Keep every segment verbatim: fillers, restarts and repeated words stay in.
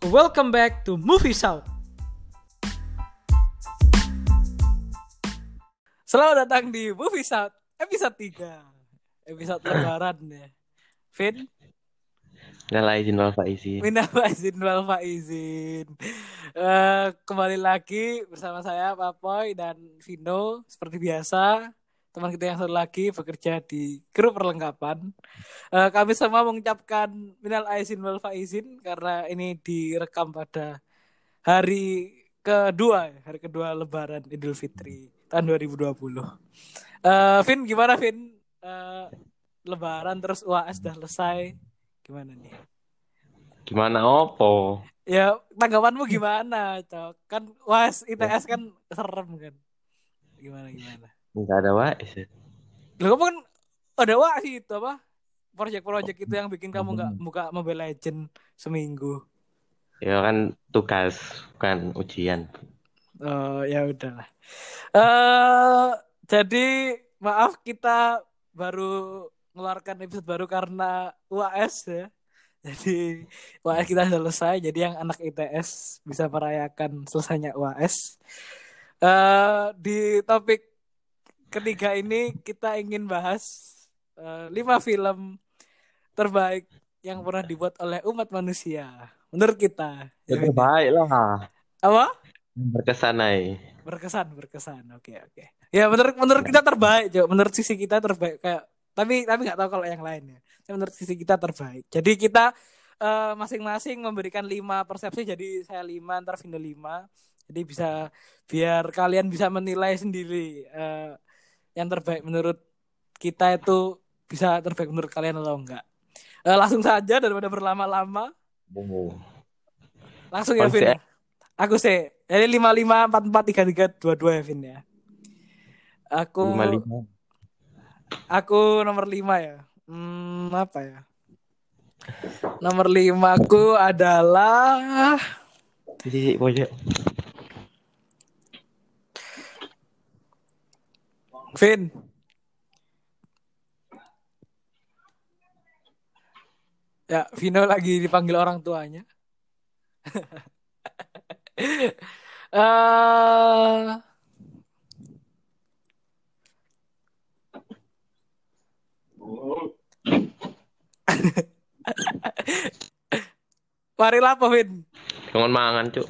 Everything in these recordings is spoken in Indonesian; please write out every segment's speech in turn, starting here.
welcome back to Movie South. Selamat datang di Movie South episode tiga. Episode lebaran ya. Vin? Minal aizin wal faizin. Minal aizin wal faizin. Uh, kembali lagi bersama saya Papoy dan Vino seperti biasa. Teman kita yang satu lagi bekerja di grup perlengkapan. Uh, kami semua mengucapkan minal aizin wal faizin karena ini direkam pada hari kedua, hari kedua Lebaran Idul Fitri tahun dua ribu dua puluh. Uh, Vin, gimana Vin? Uh, Lebaran terus U A S sudah selesai. Gimana nih? Gimana opo? Ya, tanggapanmu gimana, Cok? Kan U A S I T S kan serem kan. Gimana gimana? Enggak ada W A S. Loh, kamu kan ada U A S itu apa? Project-project itu yang bikin kamu enggak buka Mobile Legend seminggu. Ya kan tugas, bukan ujian. Oh, ya udahlah. Eh, uh, jadi maaf kita baru mengeluarkan episode baru karena U A S ya. Jadi U A S kita selesai. Jadi yang anak I T S bisa merayakan selesainya U A S. Uh, di topik ketiga ini kita ingin bahas uh, lima film terbaik yang pernah dibuat oleh umat manusia. Menurut kita. Ya terbaik lah. Apa? Berkesan aja. Berkesan, berkesan. Oke, oke. Ya menurut menurut kita terbaik, Jo. Menurut sisi kita terbaik kayak tapi tapi nggak tahu kalau yang lain ya. Menurut sisi kita terbaik. Jadi kita uh, masing-masing memberikan lima persepsi. Jadi saya lima, ntar Vino lima. Jadi bisa biar kalian bisa menilai sendiri uh, yang terbaik menurut kita itu bisa terbaik menurut kalian atau enggak. Uh, langsung saja daripada berlama-lama. Oh. Langsung ya Vin. Aku sih. Jadi lima lima empat empat tiga tiga dua dua ya Vin ya. Aku lima lima. Aku nomor lima ya. Hmm, apa ya? Nomor lima aku adalah Jadi pojok. Vin. Ya, Vino lagi dipanggil orang tuanya. uh... Marilah apa, Vin? Jangan mangan, Cuk.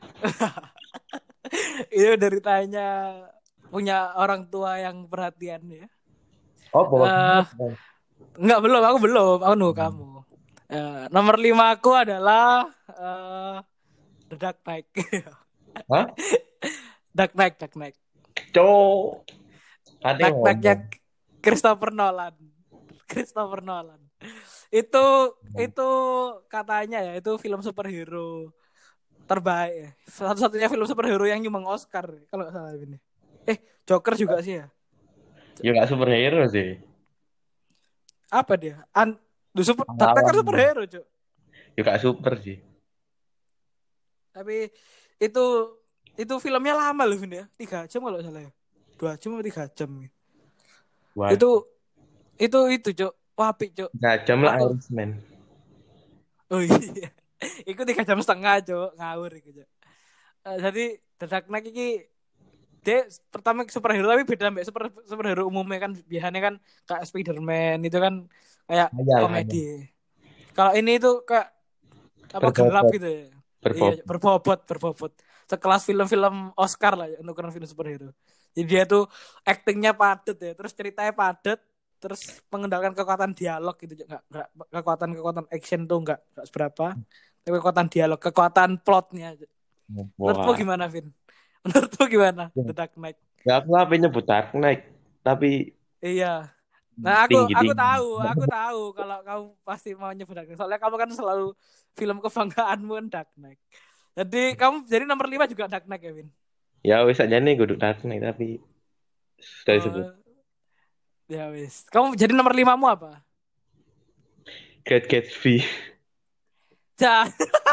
Itu dari tanya punya orang tua yang perhatian ya. Oh, uh, enggak belum, aku belum, aku nunggu hmm. kamu. Uh, nomor lima aku adalah uh, The Dark Knight. Hah? Dark Knight, Dark Knight. Cuk. Dark Knight-nya Christopher Nolan. Christopher Nolan. Itu hmm. itu katanya ya, itu film superhero terbaik ya. Satu-satunya film superhero yang nyumbang Oscar kalau nggak salah ini. Eh, Joker juga sih ya. Ya nggak superhero sih. Apa dia? An The super, Dark Knight kan superhero, Cuk. Ya nggak super sih. Tapi itu itu filmnya lama loh ini ya. tiga jam kalau salah ya. dua jam atau tiga jam. What? Itu itu itu, Cuk. Wapi, Cuk. tiga jam lah Irishman. Oh iya. Iku tiga jam setengah, Cuk. Ngawur iku, Cuk. Uh, jadi The Dark Knight iki dia pertama superhero tapi beda mbak super superhero umumnya kan biasanya kan kayak Spider-Man itu kan kayak ayah, komedi. Kalau ini itu kayak apa berbobot. Gelap gitu ya. Berbobot. Iya, berbobot, berbobot. Sekelas film-film Oscar lah ya, untuk ukuran film superhero. Jadi dia tuh aktingnya padat ya, terus ceritanya padat, terus mengendalikan kekuatan dialog gitu, enggak enggak kekuatan-kekuatan action tuh enggak enggak seberapa. Tapi kekuatan dialog, kekuatan plotnya. Menurutmu gimana, Vin? Menurutmu gimana The Dark Knight? Ya aku apa nyebut Dark Knight, tapi iya. Nah aku tinggi, aku tinggi. tahu, aku tahu kalau kamu pasti mau nyebut Dark Knight. Soalnya kamu kan selalu film kebanggaanmu kan Dark Knight. Jadi kamu jadi nomor lima juga Dark Knight ya, Vin? Ya wis aja nih gue Dark Knight tapi sudah disebut. Uh, ya wis. Kamu jadi nomor limamu apa? Great Gatsby. Ja.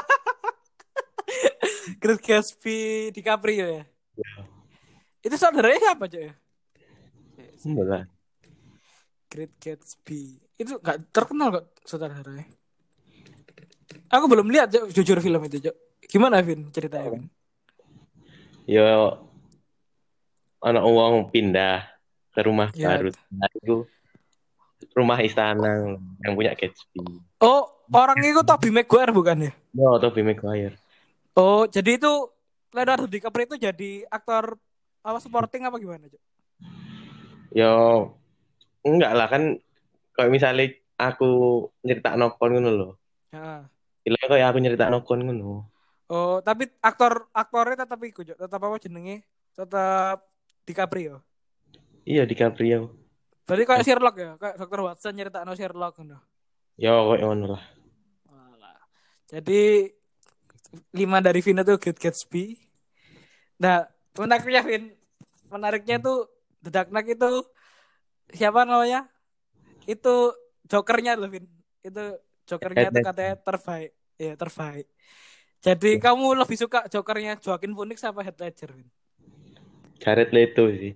Great Gatsby DiCaprio ya? Ya. Itu saudaranya siapa, Cok ya? Enggak. Great Gatsby. Itu enggak terkenal kok saudaranya. Aku belum lihat Cok, jujur film itu, Cok. Gimana, Vin? Ceritanya, Vin? Yo anak uang pindah ke rumah Ya. baru. Nah, itu rumah istana yang punya Gatsby. Oh, orang itu Tobey Maguire bukan ya? Yo, Tobey Maguire. Oh, jadi itu Leonardo DiCaprio itu jadi aktor apa supporting apa gimana, Cok? Yo enggak lah kan kalau misalnya aku nyerita nokon ngono loh. Ya. Gila kayak aku nyerita nokon ngono. Oh, tapi aktor aktornya tetap ikut, Cok. Tetap apa jenenge? Tetap DiCaprio. Iya DiCaprio. Berarti kayak Sherlock ya, kayak dokter Watson nyerita no Sherlock gitu. Yo kayak ngono lah. Walah. Jadi lima dari Vino tuh Great Gatsby. Nah, menariknya Vin, menariknya tuh The Dark Knight itu siapa namanya? Itu Jokernya loh Vin. Itu Jokernya Head tuh katanya Ledger. terbaik. Ya, terbaik. Jadi kamu lebih suka Jokernya Joaquin Phoenix apa Heath Ledger, Vin? Jared Leto sih.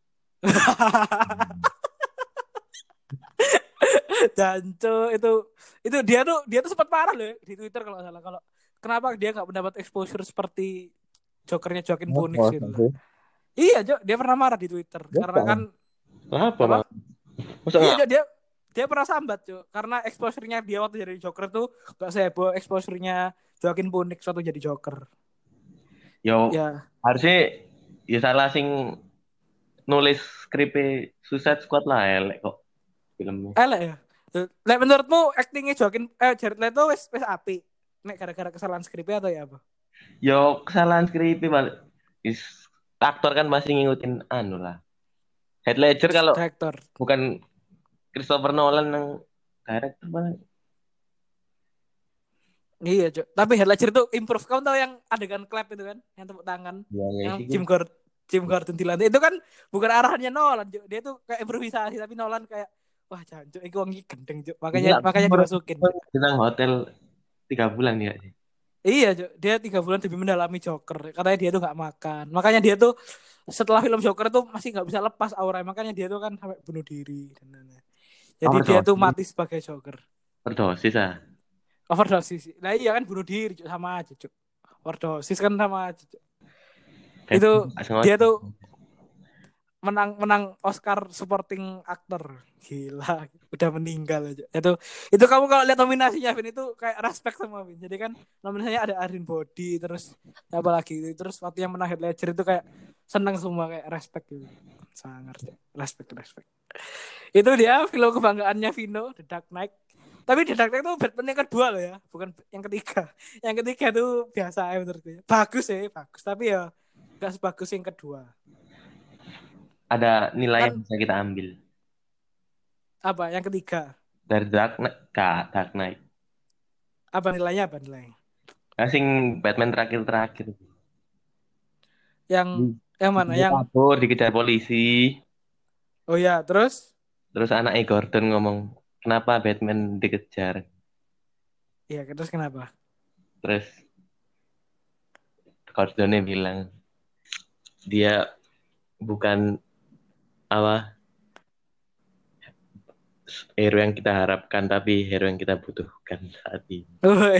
Janco itu itu dia tuh dia tuh sempat parah loh ya, di Twitter kalau nggak salah kalau kenapa dia nggak mendapat exposure seperti Jokernya Joaquin Phoenix Apa gitu loh. sih? Iya, Jo, dia pernah marah di Twitter karena kan Kenapa apa? bang? Masa Iya, nggak? Jo, dia dia pernah sambat, Jo, karena exposure-nya dia waktu jadi Joker tuh gak seheboh exposure-nya Joaquin Phoenix waktu jadi Joker. Yo Ya, harusnya ya salah sing nulis skripnya Suicide Squad lah elek kok filmnya. elek ya. Lek menurutmu actingnya Joaquin eh Jared Leto wes wes api. Nek gara-gara kesalahan skripnya atau ya apa? Yo kesalahan skripnya balik. Is, aktor kan masih ngikutin anu lah. Heath Ledger kalau Director. bukan Christopher Nolan yang director bang. Iya, Cok. Tapi Heath Ledger tuh improve. Kamu tahu yang adegan clap itu kan? Yang tepuk tangan. Ya nggak Yang sih Jim Gordon, Jim Gordon di lantai. Itu kan bukan arahannya Nolan, Cok. Dia tuh kayak improvisasi. Tapi Nolan kayak, wah jancuk, itu wangi gendeng, Cok. ini Makanya lah makanya dimasukin, Cok. tentang hotel tiga bulan ya sih. Iya, Cok. Dia tiga bulan demi mendalami Joker. Katanya dia tuh nggak makan. Makanya dia tuh setelah film Joker tuh masih nggak bisa lepas aura. Makanya dia tuh kan sampai bunuh diri. Dan lain-lain. Jadi dia tuh Overdosis, mati sebagai Joker. overdosis ah. Overdosis. Nah iya kan bunuh diri, Cok. Sama aja, Cok. Overdosis kan sama aja, Cok. Dan Itu nggak dia sengaja. tuh menang menang Oscar supporting actor, gila, udah meninggal aja itu itu kamu kalau lihat nominasinya Vin itu kayak respect sama Vin. Jadi kan nominasinya ada Adrien Brody terus apa lagi terus waktu yang menang Heath Ledger itu kayak seneng semua kayak respect gitu, sangat respect respect itu dia film kebanggaannya Vino The Dark Knight. Tapi The Dark Knight itu Batman yang kedua loh ya, bukan yang ketiga. Yang ketiga itu biasa ya menurutku, bagus ya bagus tapi ya gak sebagus yang kedua. Ada nilai yang Kan bisa kita ambil apa yang ketiga, dari Dark Knight ke Dark Knight. apa nilainya apa nilainya Asing Batman terakhir-terakhir. yang Hmm. yang mana Dia yang kabur dikejar polisi. oh ya terus Terus anaknya Gordon ngomong, kenapa Batman dikejar? ya terus kenapa Terus Gordonnya bilang, dia bukan apa hero yang kita harapkan, tapi hero yang kita butuhkan saat ini. oh,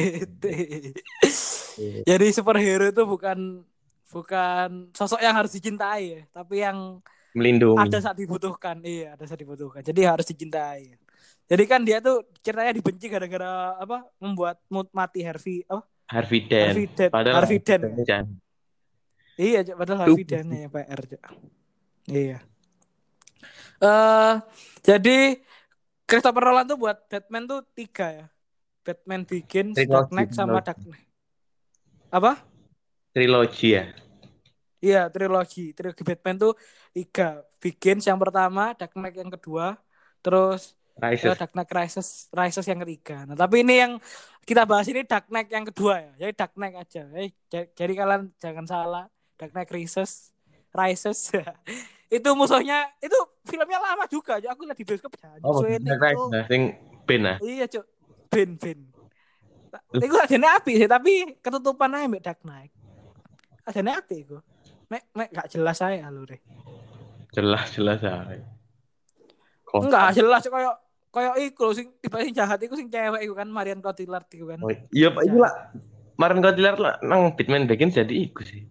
jadi superhero itu bukan bukan sosok yang harus dicintai ya tapi yang Melindungi. ada saat dibutuhkan. Iya, ada saat dibutuhkan, jadi harus dicintai. Jadi kan dia tuh ceritanya dibenci gara-gara apa membuat mati Harvey apa Harvey Dent. Harvey Dent Padahal Harvey Dent ya. jangan. Iya, Cok, padahal Harvey Dent ya P R, Cok. Iya. Eh uh, jadi Christopher Nolan tuh buat Batman tuh tiga ya. Batman Begins, Dark Trilogi, Knight, sama trilogi. Dark Knight. Apa? Trilogi ya. Iya, trilogi. Trilogi Batman tuh tiga. Begins yang pertama, Dark Knight yang kedua, terus uh, Rises. Dark Knight Rises, Rises yang ketiga. Nah, tapi ini yang kita bahas ini Dark Knight yang kedua ya. Jadi Dark Knight aja. Jadi, jadi kalian jangan salah. Dark Knight Rises, Rises. Itu musuhnya, itu filmnya lama juga. Aku lihat di bioskop jangan. Oh, Suwene Dark Knight. itu. Nah, sing Ben ah. Iya, Cuk. Ben, Ben. Iku ajane api sih, tapi ketutupan aja mbak Dark Knight. Ajane api iku. Mek mek gak jelas aja alure. Jelas jelas ah. Enggak Kosong. jelas kayak Kayak iku lho, sing tiba sing jahat iku sing cewek iku kan Marion Cotillard iku kan. Oh, iya Pak, Sing itu jahat. lah. Kemarin kau dilihat lah, nang Batman Begins jadi iku sih.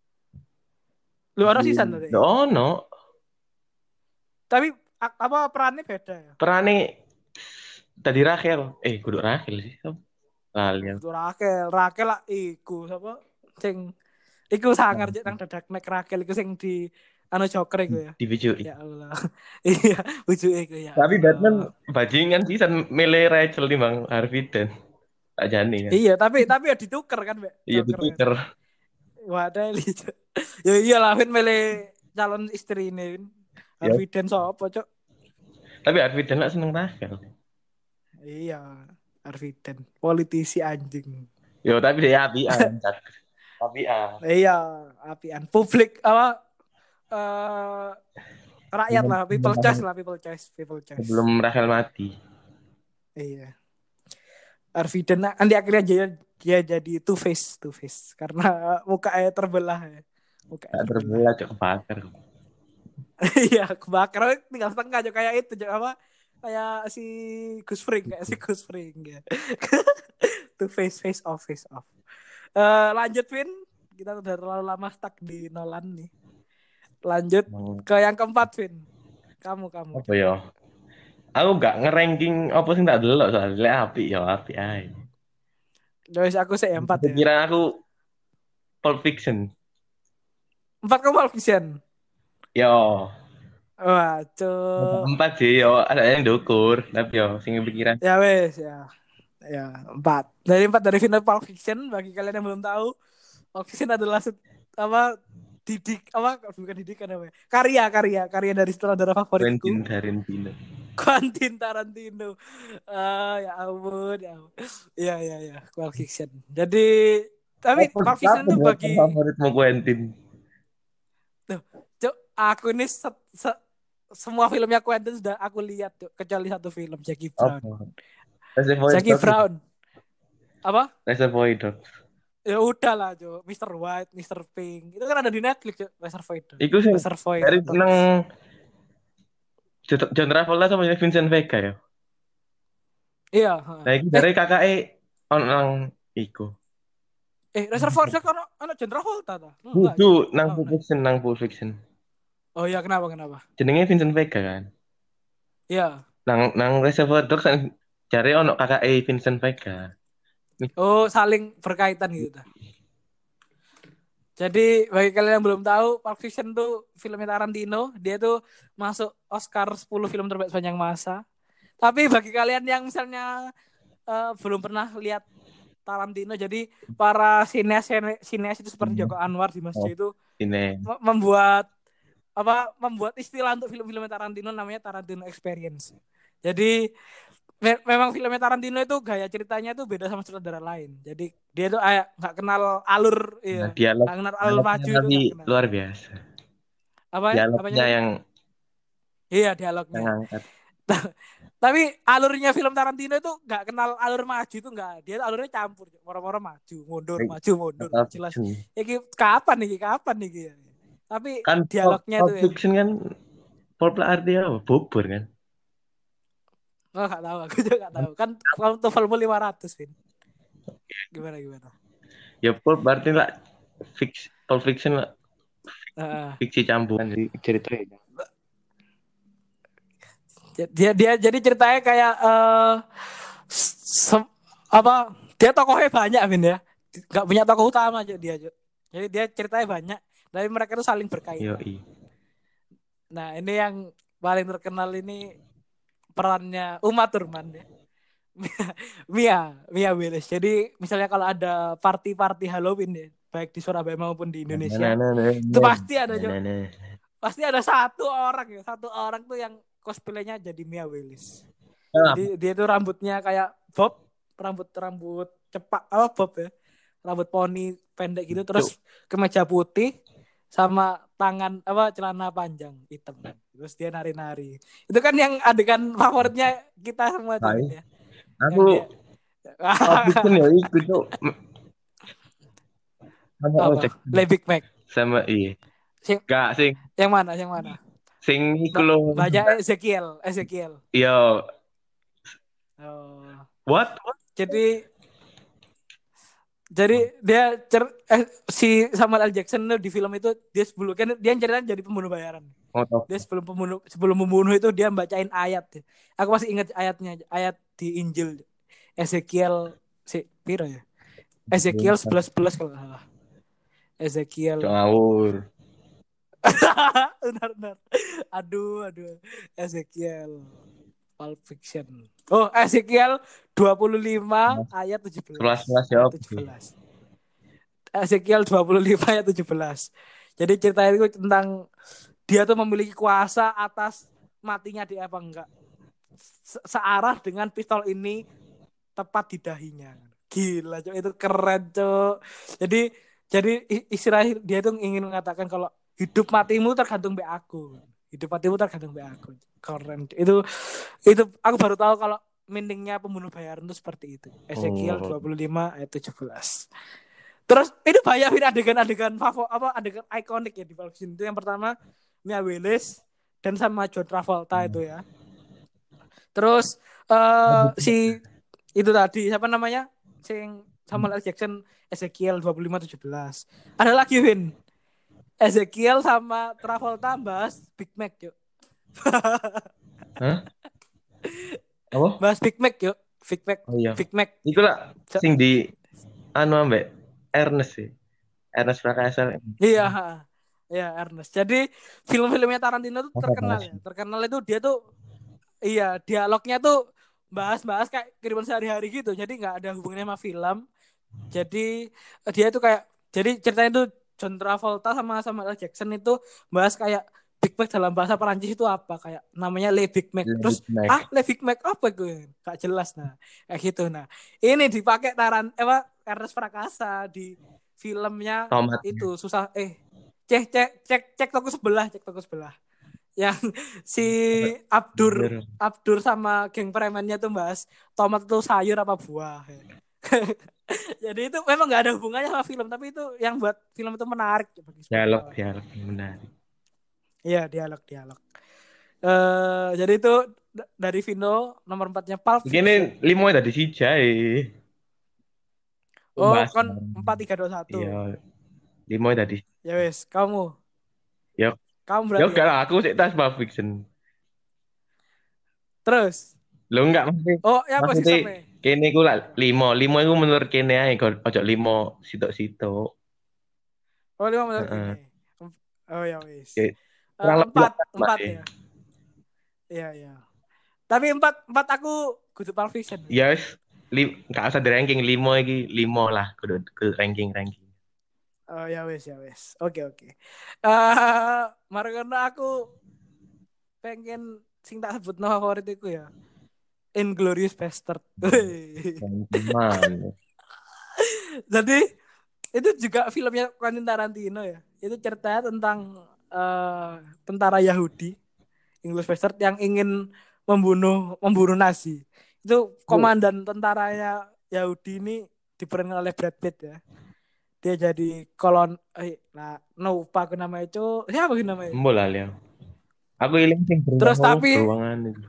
Lu ono Jadi, sisan tadi. oh no, Tapi a- apa perannya beda ya? perannya tadi Rachel, eh kudu Rachel sih, lali. Oh, itu Rakel, Rakel lah iku sapa sing iku sangar cek nang dadak nek Rakel iku sing di anu Joker iku ya. Di video. Ya Allah. Iya, bujuke iku ya. Tapi Allah. Batman bajingan sih, san milih Rachel nih bang Harvey Dent, tak jani kan. Iya, tapi tapi ya dituker kan, Mbak. Iya Joker kan. ditukar. Wadah lihat. Ya iyalah Vin milih calon istri ini. Vin. Ya. Harvey Dent sapa, Cok? Tapi Harvey Dent lah seneng Rachel. Iya, Harvey Dent, politisi anjing. Yo tapi dia apian, Cak. Apian. Iya, apian. Publik apa eh rakyat lah, people choice lah, people choice, people choice. Sebelum Rachel mati. Iya. Harvey Dent nanti akhirnya dia, dia jadi two face, two face karena mukanya terbelah ya. Mukanya Tak terbelah. terbelah cok kebakar. Iya, kebakar tinggal setengah aja kayak itu Cok. Apa kayak si Gus Fring, kayak si Gus Fring ya. Two face, face off, face off. Uh, lanjut Vin, kita udah terlalu lama stuck di Nolan nih. Lanjut Hmm. ke yang keempat Vin. Kamu kamu. Apa ya? Aku gak ngeranking apa sih tak delok soalnya api ya api ae. Guys, aku sih empat ya. Pikiran aku Pulp Fiction. Empat kamu Pulp Fiction. Yo. Wah, cuy. Empat sih yo, ada yang dukur, tapi yo sing pikiran. Ya wes ya. Ya, empat. Dari empat dari final Pulp Fiction bagi kalian yang belum tahu, Pulp Fiction adalah set, apa didik apa bukan didikan apa ya? Karya karya karya dari sutradara favoritku. Quentin Tarantino. Quentin Tarantino. Uh, ya ampun, ya ampun. Iya, iya, iya. Pulp Fiction. Jadi, tapi Pulp Fiction itu bagi... favoritmu Quentin? Tuh, Cuk, aku ini se, se, semua filmnya Quentin sudah aku lihat, Cuk. Kecuali satu film, Jackie Brown. Oh. Jackie Brown. Apa? Reservoir Dogs. Ya udah lah, Cuk. mister White, mister Pink. Itu kan ada di Netflix, Cuk. Reservoir Dogs. Iku sih Reservoir dari Dogs. seneng John Travolta sama Vincent Vega ya. Iya. Nah, itu dari kakak E orang iku. Eh, Reservoir Dogs kan anak John Travolta ta? Itu nang Pulp Fiction, nang Pulp Fiction. Oh iya, kenapa kenapa? Jenenge Vincent Vega kan. Iya. Nang nang Reservoir Dogs kan cari ono kakak E Vincent Vega. Oh, saling berkaitan gitu ta. Jadi bagi kalian yang belum tahu, Pulp Fiction tuh filmnya Tarantino, dia tuh masuk Oscar sepuluh film terbaik sepanjang masa. Tapi bagi kalian yang misalnya uh, belum pernah lihat Tarantino, jadi para sineas sineas itu seperti Joko Anwar, Dimas J itu ini membuat apa membuat istilah untuk film-film Tarantino namanya Tarantino Experience. Jadi me- memang filmnya Tarantino itu gaya ceritanya tuh beda sama sutradara lain. Jadi dia tuh kayak nggak kenal alur, iya, nah, dialog, nggak kenal alur maju itu tapi luar biasa. Apa? Dialognya yang iya dialognya. Yang angkat. Tapi alurnya film Tarantino itu nggak kenal alur maju itu nggak. Dia alurnya campur, moro-moro maju, mundur, maju, mundur. Jelas. Ya kapan nih? Kapan nih? Tapi kan dialognya Pulp tuh Fiction ya. Kan Pulp artinya apa? Bubur kan? Oh nggak tahu, aku juga nggak tahu. Kan TOEFLmu lima ratus, Vin. Gimana gimana? Ya Pulp berarti lah fix, Pulp Fiction lah. Uh, fiksi campuran dari ceritanya. Dia dia jadi ceritanya kayak uh, se- apa? Dia tokohnya banyak, Vin ya. Gak punya tokoh utama aja dia. Jadi dia ceritanya banyak, tapi mereka itu saling berkaitan. Yoi. Nah ini yang paling terkenal ini perannya Uma Thurman ya. Mia, Mia Willis. Jadi misalnya kalau ada party-party Halloween ya, baik di Surabaya maupun di Indonesia, nah, nah, nah, itu nah, pasti ada nah, nah. pasti ada satu orang ya, satu orang tuh yang cosplaynya jadi Mia Willis. Nah. Jadi dia tuh rambutnya kayak bob, rambut-rambut cepak, apa bob ya, rambut poni pendek gitu, terus kemeja putih sama tangan apa celana panjang hitam, terus dia nari-nari. Itu kan yang adegan favoritnya kita semua tuh ya. Aku Fiction ya ikut tuh sama Le Big Mac sama iya sing, gak sing yang mana yang mana sing iku lho banyak Ezekiel Ezekiel iya Oh. What? Jadi jadi dia cer eh, si Samuel L. Jackson tuh di film itu dia sebelum kan dia ceritanya jadi pembunuh bayaran. Oh, Dia sebelum pembunuh sebelum membunuh itu dia bacain ayat. Aku masih ingat ayatnya, ayat di Injil Ezekiel si piro ya? Ezekiel sebelas sebelas kalau nggak salah. Ezekiel. ngawur. Benar, benar. Aduh, aduh. Ezekiel. Pulp Fiction. Oh, Ezekiel dua puluh lima ayat tujuh Sebelas belas. sebelas Ayat jawab tujuh sih. belas. Ezekiel dua puluh lima ayat tujuh belas. Jadi cerita itu tentang dia tuh memiliki kuasa atas matinya dia apa enggak. Se- searah dengan pistol ini tepat di dahinya. Gila, Cok. Itu keren, Cok. Jadi jadi istilah dia tuh ingin mengatakan kalau hidup matimu tergantung be aku. Hidup matimu tergantung be aku. Keren. Itu itu aku baru tahu kalau meaningnya pembunuh bayaran itu seperti itu. Ezekiel Oh. dua puluh lima ayat tujuh belas. Terus itu banyak adegan-adegan favorit apa adegan ikonik ya di Pulp Fiction itu. Yang pertama Mia Willis dan sama John Travolta itu ya. Terus uh, si itu tadi siapa namanya? Sing Samuel L. Jackson Ezekiel dua puluh lima tujuh belas. Ada lagi Win. Ezekiel sama Travolta bahas Big Mac yuk. Hah? Apa? Bahas Big Mac yuk. Big Mac. Oh iya. Big Mac. Iku lah sing di anu ambek Ernest sih. Ernest Prakasa. Iya, ya Ernest. Jadi film-filmnya Tarantino tuh Apa terkenal bahas? ya. Terkenal itu dia tuh iya dialognya tuh bahas-bahas kayak kehidupan sehari-hari gitu. Jadi nggak ada hubungannya sama film. Jadi dia itu kayak jadi ceritanya tuh John Travolta sama Samuel L. Jackson itu bahas kayak Big Mac dalam bahasa Perancis itu apa kayak namanya Le Big Mac. David Terus ah Mac. Le Big Mac apa gue? Gak jelas nah. Kayak gitu nah. Ini dipakai Taran eh apa Ernest Prakasa di filmnya Tomatnya. itu susah eh cek cek cek cek toko sebelah cek toko sebelah yang si Abdur Bener. Abdur sama geng premannya tuh bahas tomat itu sayur apa buah. Jadi itu memang nggak ada hubungannya sama film, tapi itu yang buat film itu menarik bagi Dialog spektator. dialog yang menarik. Iya dialog dialog. Eh jadi itu d- dari Vino nomor empatnya Pulp Gini Fiction. limo tadi si Jai. Oh Bahas. kon empat tiga dua satu. Iya, limo tadi. Ya wes kamu Ya, kamu ya berarti enggak ya. lah, aku sih tas Pulp Fiction. Terus Lo enggak maksudnya, oh ya maksudnya posisinya. kene ku lah limo, limo itu menurut kene ae kok ojo limo sitok-sitok. Oh lima menit gini. Heeh. Oh ya wes. Oke. Eh, Kurang lebih lah empat sama empat deh. ya. Iya iya. Tapi empat empat aku kudu Pulp Fiction. Ya wis, li, enggak usah di ranking limo iki, limo lah kudu ke ranking-ranking. Oh ya wes ya wes. Oke oke. Eh mari karena aku pengen sing tak sebut no favoritku ya. Inglorious Bastard. Teman. Jadi itu juga filmnya Quentin Tarantino ya. Itu ceritanya tentang eh, tentara Yahudi, Inglorious Bastard yang ingin membunuh membunuh Nazi. Itu komandan tentaranya Yahudi ini diperankan oleh Brad Pitt ya. Dia jadi kolon eh nah no lupa aku namanya itu siapa sih namanya. Mbol lah Leo. Aku iling sing beruang Terus tapi beruangan itu.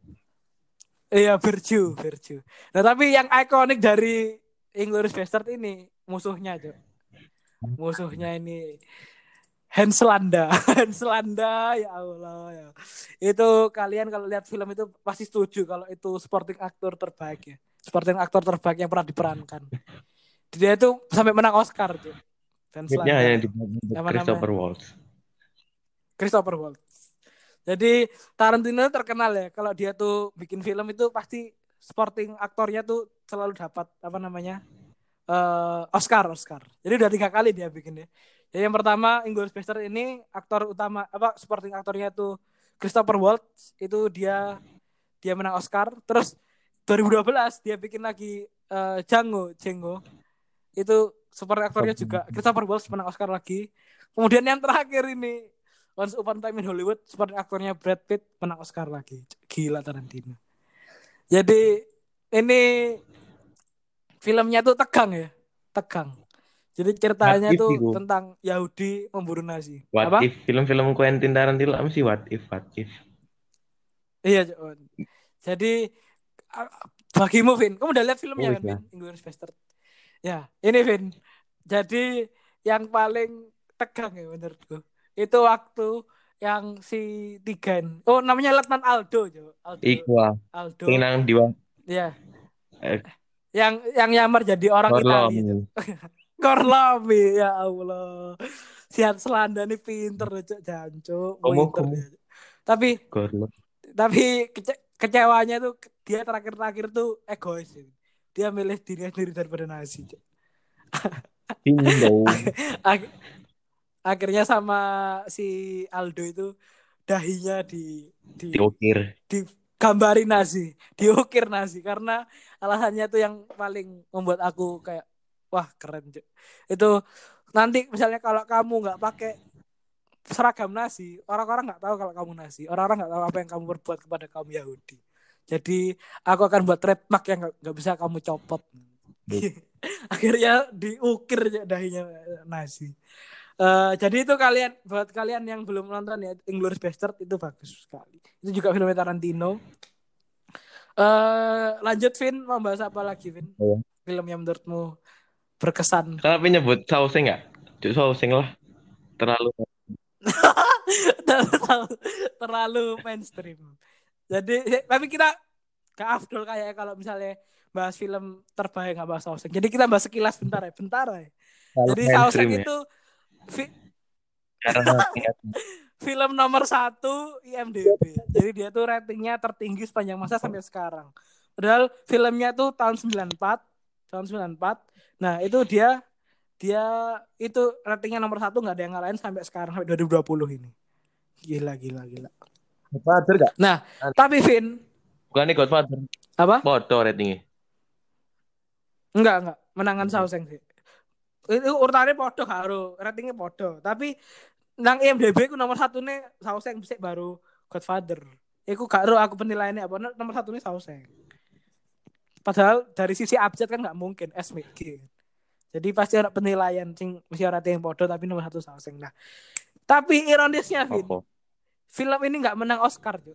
iya Virtue, Virtue. Nah tapi yang ikonik dari Inglourious Bastard ini musuhnya, Cok. Musuhnya ini Hans Landa. Hans Landa ya Allah ya. Itu kalian kalau lihat film itu pasti setuju kalau itu supporting aktor terbaik ya. Supporting aktor terbaik yang pernah diperankan. Dia itu sampai menang Oscar, Cok. Hans Duitnya Landa hanya tuh. di Apa namanya? Christopher Waltz. Christopher Waltz. Jadi Tarantino terkenal ya kalau dia tuh bikin film itu pasti supporting aktornya tuh selalu dapat apa namanya uh, Oscar Oscar. Jadi udah tiga kali dia bikin ya. Jadi yang pertama Inglourious Basterds ini aktor utama apa supporting aktornya tuh Christopher Waltz itu dia dia menang Oscar. Terus dua ribu dua belas dia bikin lagi uh, Django Django itu supporting aktornya juga Christopher Waltz menang Oscar lagi. Kemudian yang terakhir ini Once Upon a Time in Hollywood seperti aktornya Brad Pitt menang Oscar lagi. Gila Tarantino. Jadi ini filmnya tuh tegang ya. Tegang. Jadi What ceritanya if tuh iku? tentang Yahudi memburu Nazi. What Apa? if film-film Quentin Tarantino mesti what if what if. Iya, John. Jadi bagimu Vin, kamu udah lihat Oh filmnya kan iya. Vin, Inglourious Basterds? Ya, ini Vin. Jadi yang paling tegang ya menurutku. Itu waktu yang si Tigan. Oh, namanya Letnan Aldo, Jo. Aldo. Iku ah. Sing Aldo. nang diwa Ya, eh yang yang nyamar jadi orang Orlom. Italia, Jo. Korlomi, ya Allah. Sihat selanda nih pinter, Cok. Jancuk, Komo pinter komo dia. Tapi Gorlom. tapi kece kecewanya tuh dia terakhir-terakhir tuh egois. Ya. Dia milih dirinya sendiri daripada nasi, Cok. Indo. Ak- akhirnya sama si Aldo itu dahinya di di Diukir. digambarin nasi, diukir nasi karena alasannya tuh yang paling membuat aku kayak wah keren Cuk. Itu nanti misalnya kalau kamu nggak pakai seragam nasi, orang-orang nggak tahu kalau kamu nasi, orang-orang nggak tahu apa yang kamu perbuat kepada kaum Yahudi. Jadi aku akan buat trademark yang nggak bisa kamu copot. Akhirnya diukir Cuk, dahinya nasi. Uh, jadi itu kalian buat kalian yang belum nonton ya Inglourious Basterds itu bagus sekali. Itu juga film Tarantino. Uh, lanjut Vin, mau bahas apa lagi Vin? Oh. Film yang menurutmu berkesan. Tapi nyebut sausnya nggak? Cuk sausnya lah. Terlalu. terlalu, terlalu mainstream. Jadi tapi kita ke Afdol kayak kalau misalnya bahas film terbaik nggak bahas Shawshank. Jadi kita bahas sekilas bentar ya, bentar ya. Terlalu Jadi mainstream Shawshank ya. itu fi- Karena film nomor satu I M D B. Jadi dia tuh ratingnya tertinggi sepanjang masa sampai sekarang. Padahal filmnya tuh tahun sembilan puluh empat, tahun sembilan puluh empat. Nah itu dia dia itu ratingnya nomor satu nggak ada yang ngalahin sampai sekarang sampai dua ribu dua puluh ini. Gila gila gila. Godfather gak? Nah tapi Vin Bukan nih Godfather. apa? Foto ratingnya. Enggak enggak menangan Shawshank sih. Itu urutannya podo karo ratingnya podo. Tapi nang I M D B ku nomor satu nih Shawshank bisa baru Godfather. Iku gak ero aku penilaiannya apa nomor satu nih Shawshank. Padahal dari sisi abjad kan nggak mungkin S M G. Jadi pasti ada penilaian sing mesti ora yang podo tapi nomor satu Shawshank. Nah, tapi ironisnya Vin, Apa? film ini nggak menang Oscar, Cuk.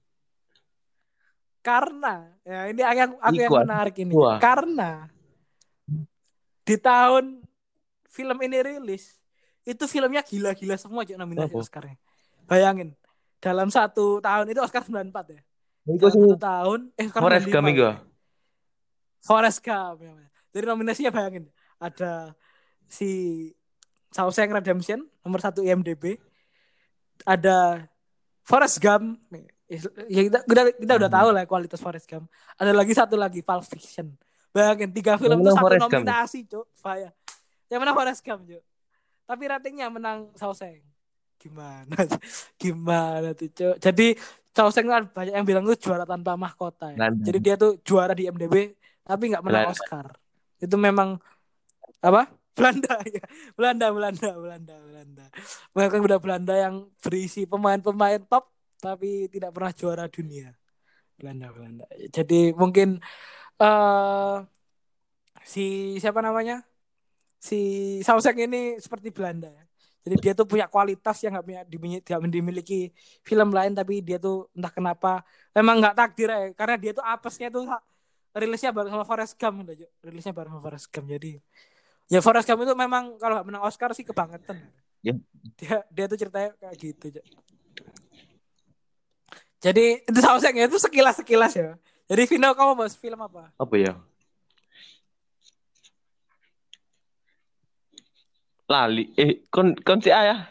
Karena ya ini yang aku Iku yang ah. menarik ini. Wah. Karena di tahun film ini rilis itu filmnya gila-gila semua Cuk nominasi Apa? Oscarnya. Bayangin dalam satu tahun itu Oscar sembilan puluh empat ya. Iku Dalam sing satu tahun eh Oscar Forrest Gump sembilan puluh lima. iku. Forrest Gump ya. Jadi nominasinya bayangin ada si Shawshank Redemption nomor satu I M D B, ada Forrest Gump. Ya kita, kita, kita udah tahu lah kualitas Forrest Gump. Ada lagi satu lagi Pulp Fiction. Bayangin tiga film itu satu Forrest Gump. nominasi, Cuk. Faya. Yang menang Forrest Gump, Cuk. Tapi ratingnya menang Shawshank. Gimana? Gimana tuh, Cuk? Jadi Shawshank kan banyak yang bilang itu juara tanpa mahkota ya. London. Jadi dia tuh juara di I M D B tapi nggak menang Belanda. Oscar. Itu memang apa? Belanda ya. Belanda, Belanda, Belanda, Belanda. Mereka udah Belanda yang berisi pemain-pemain top tapi tidak pernah juara dunia. Belanda, Belanda. Jadi mungkin uh, si siapa namanya? Si Shawshank ini seperti Belanda ya. Jadi dia tuh punya kualitas yang nggak punya dimiliki, dimiliki film lain tapi dia tuh entah kenapa memang nggak takdir ya karena dia tuh apesnya tuh rilisnya bareng sama Forrest Gump udah rilisnya bareng sama Forrest Gump jadi ya Forrest Gump itu memang kalau nggak menang Oscar sih kebangetan Ya. dia dia tuh ceritanya kayak gitu aja. Jadi itu Shawshank ya itu sekilas sekilas ya. Jadi Vino kamu bahas film apa? Apa ya? Lali. Eh, kon kon si ayah.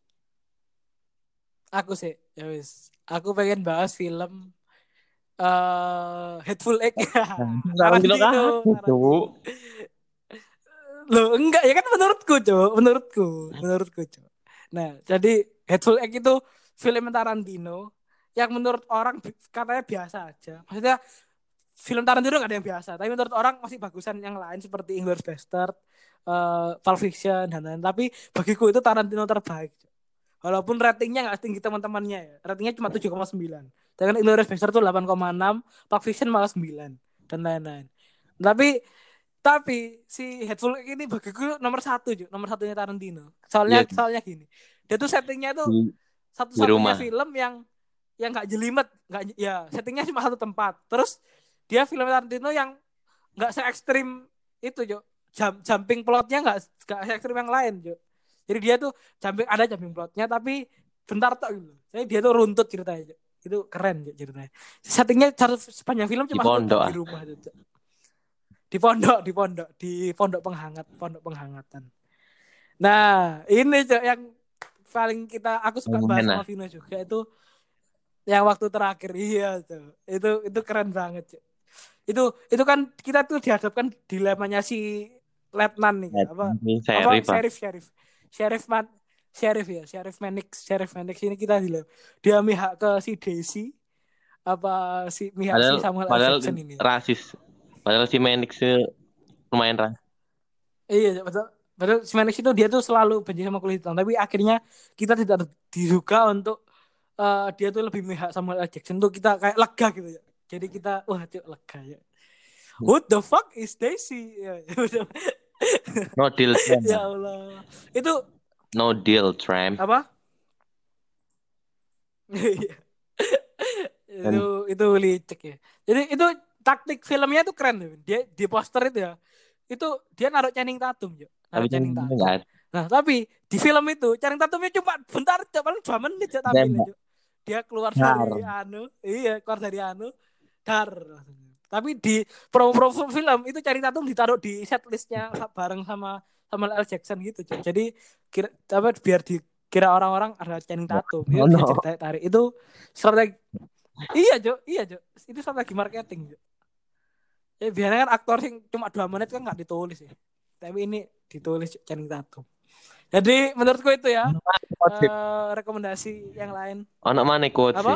Aku sih, ya wis. Aku pengen bahas film uh, Hateful Eight ya. Tarantino Tarantino, Tarantino. Loh, enggak ya kan menurutku, Cok. Menurutku, menurutku, Cok. Nah, jadi Hateful Eight itu film Tarantino yang menurut orang katanya biasa aja. Maksudnya film Tarantino nggak ada yang biasa, tapi menurut orang masih bagusan yang lain seperti Inglourious Basterds, uh, Pulp Fiction dan lain-lain. Tapi bagiku itu Tarantino terbaik. Walaupun ratingnya nggak tinggi teman-temannya ya, ratingnya cuma tujuh koma sembilan. Sedangkan Inglourious Basterds tuh delapan koma enam, Pulp Fiction malah sembilan dan lain-lain. Tapi tapi si Hateful Eight ini bagiku nomor satu, Ju. Nomor satunya Tarantino. Soalnya Ya, soalnya gini, dia tuh settingnya tuh di, di satu-satunya rumah. film yang yang nggak jelimet, nggak ya settingnya cuma satu tempat. Terus dia film Tarantino yang nggak se ekstrim itu Jo. Jump, jumping plotnya nggak nggak se ekstrim yang lain Jo. Jadi dia tuh jumping ada jumping plotnya tapi bentar tok gitu. Jadi dia tuh runtut ceritanya Jo. Itu keren Jo ceritanya. Settingnya sepanjang film Di cuma satu pondok tok di ah. rumah Jo. Di pondok, di pondok, di pondok penghangat, pondok penghangatan. Nah, ini Jo yang paling kita aku suka bahas Lumayan sama lah. Vino juga itu yang waktu terakhir iya tuh. Itu itu keren banget Jo. Itu itu kan kita tuh dihadapkan dilemanya si letnan nih Nah, apa ini apa Serif ah. sheriff sheriff sheriff man sheriff ya sheriff Manix sheriff Manix ini kita dilem dia mihak ke si Daisy apa si mihak si Padahal Samuel L. padahal Jackson ini rasis. Padahal si Manix lumayan rasis. iya betul betul si Manix itu dia tuh selalu benci sama kulit hitam tapi akhirnya kita tidak diduga untuk uh, dia tuh lebih mihak Samuel L. Jackson tuh kita kayak lega gitu ya jadi kita wah cuk lega ya what the fuck is Daisy ya, No deal tramp. ya Allah itu No deal tramp. apa itu Dan itu licik ya jadi itu taktik filmnya tuh keren tuh dia di poster itu ya itu dia naruh Channing Tatum jo tapi naruh yang Channing ini Tatum enggak ada. nah tapi di film itu Channing Tatumnya cuma bentar aja paling dua menit aja tampilnya Tembak. jo dia keluar Har. dari anu iya keluar dari anu dar tapi di promo-promo film itu Channing Tatum ditaruh di set listnya bareng sama Samuel L. Jackson gitu jo jadi kira apa biar di kira orang-orang ada Channing Tatum itu Oh bisa no. cerita tarik itu strategi iya Jo iya Jo itu strategi marketing Jo ya biasanya kan aktor yang cuma dua menit kan nggak ditulis ya tapi ini ditulis Channing Tatum jadi menurutku itu ya uh, rekomendasi yang lain Ono mana quote sih? apa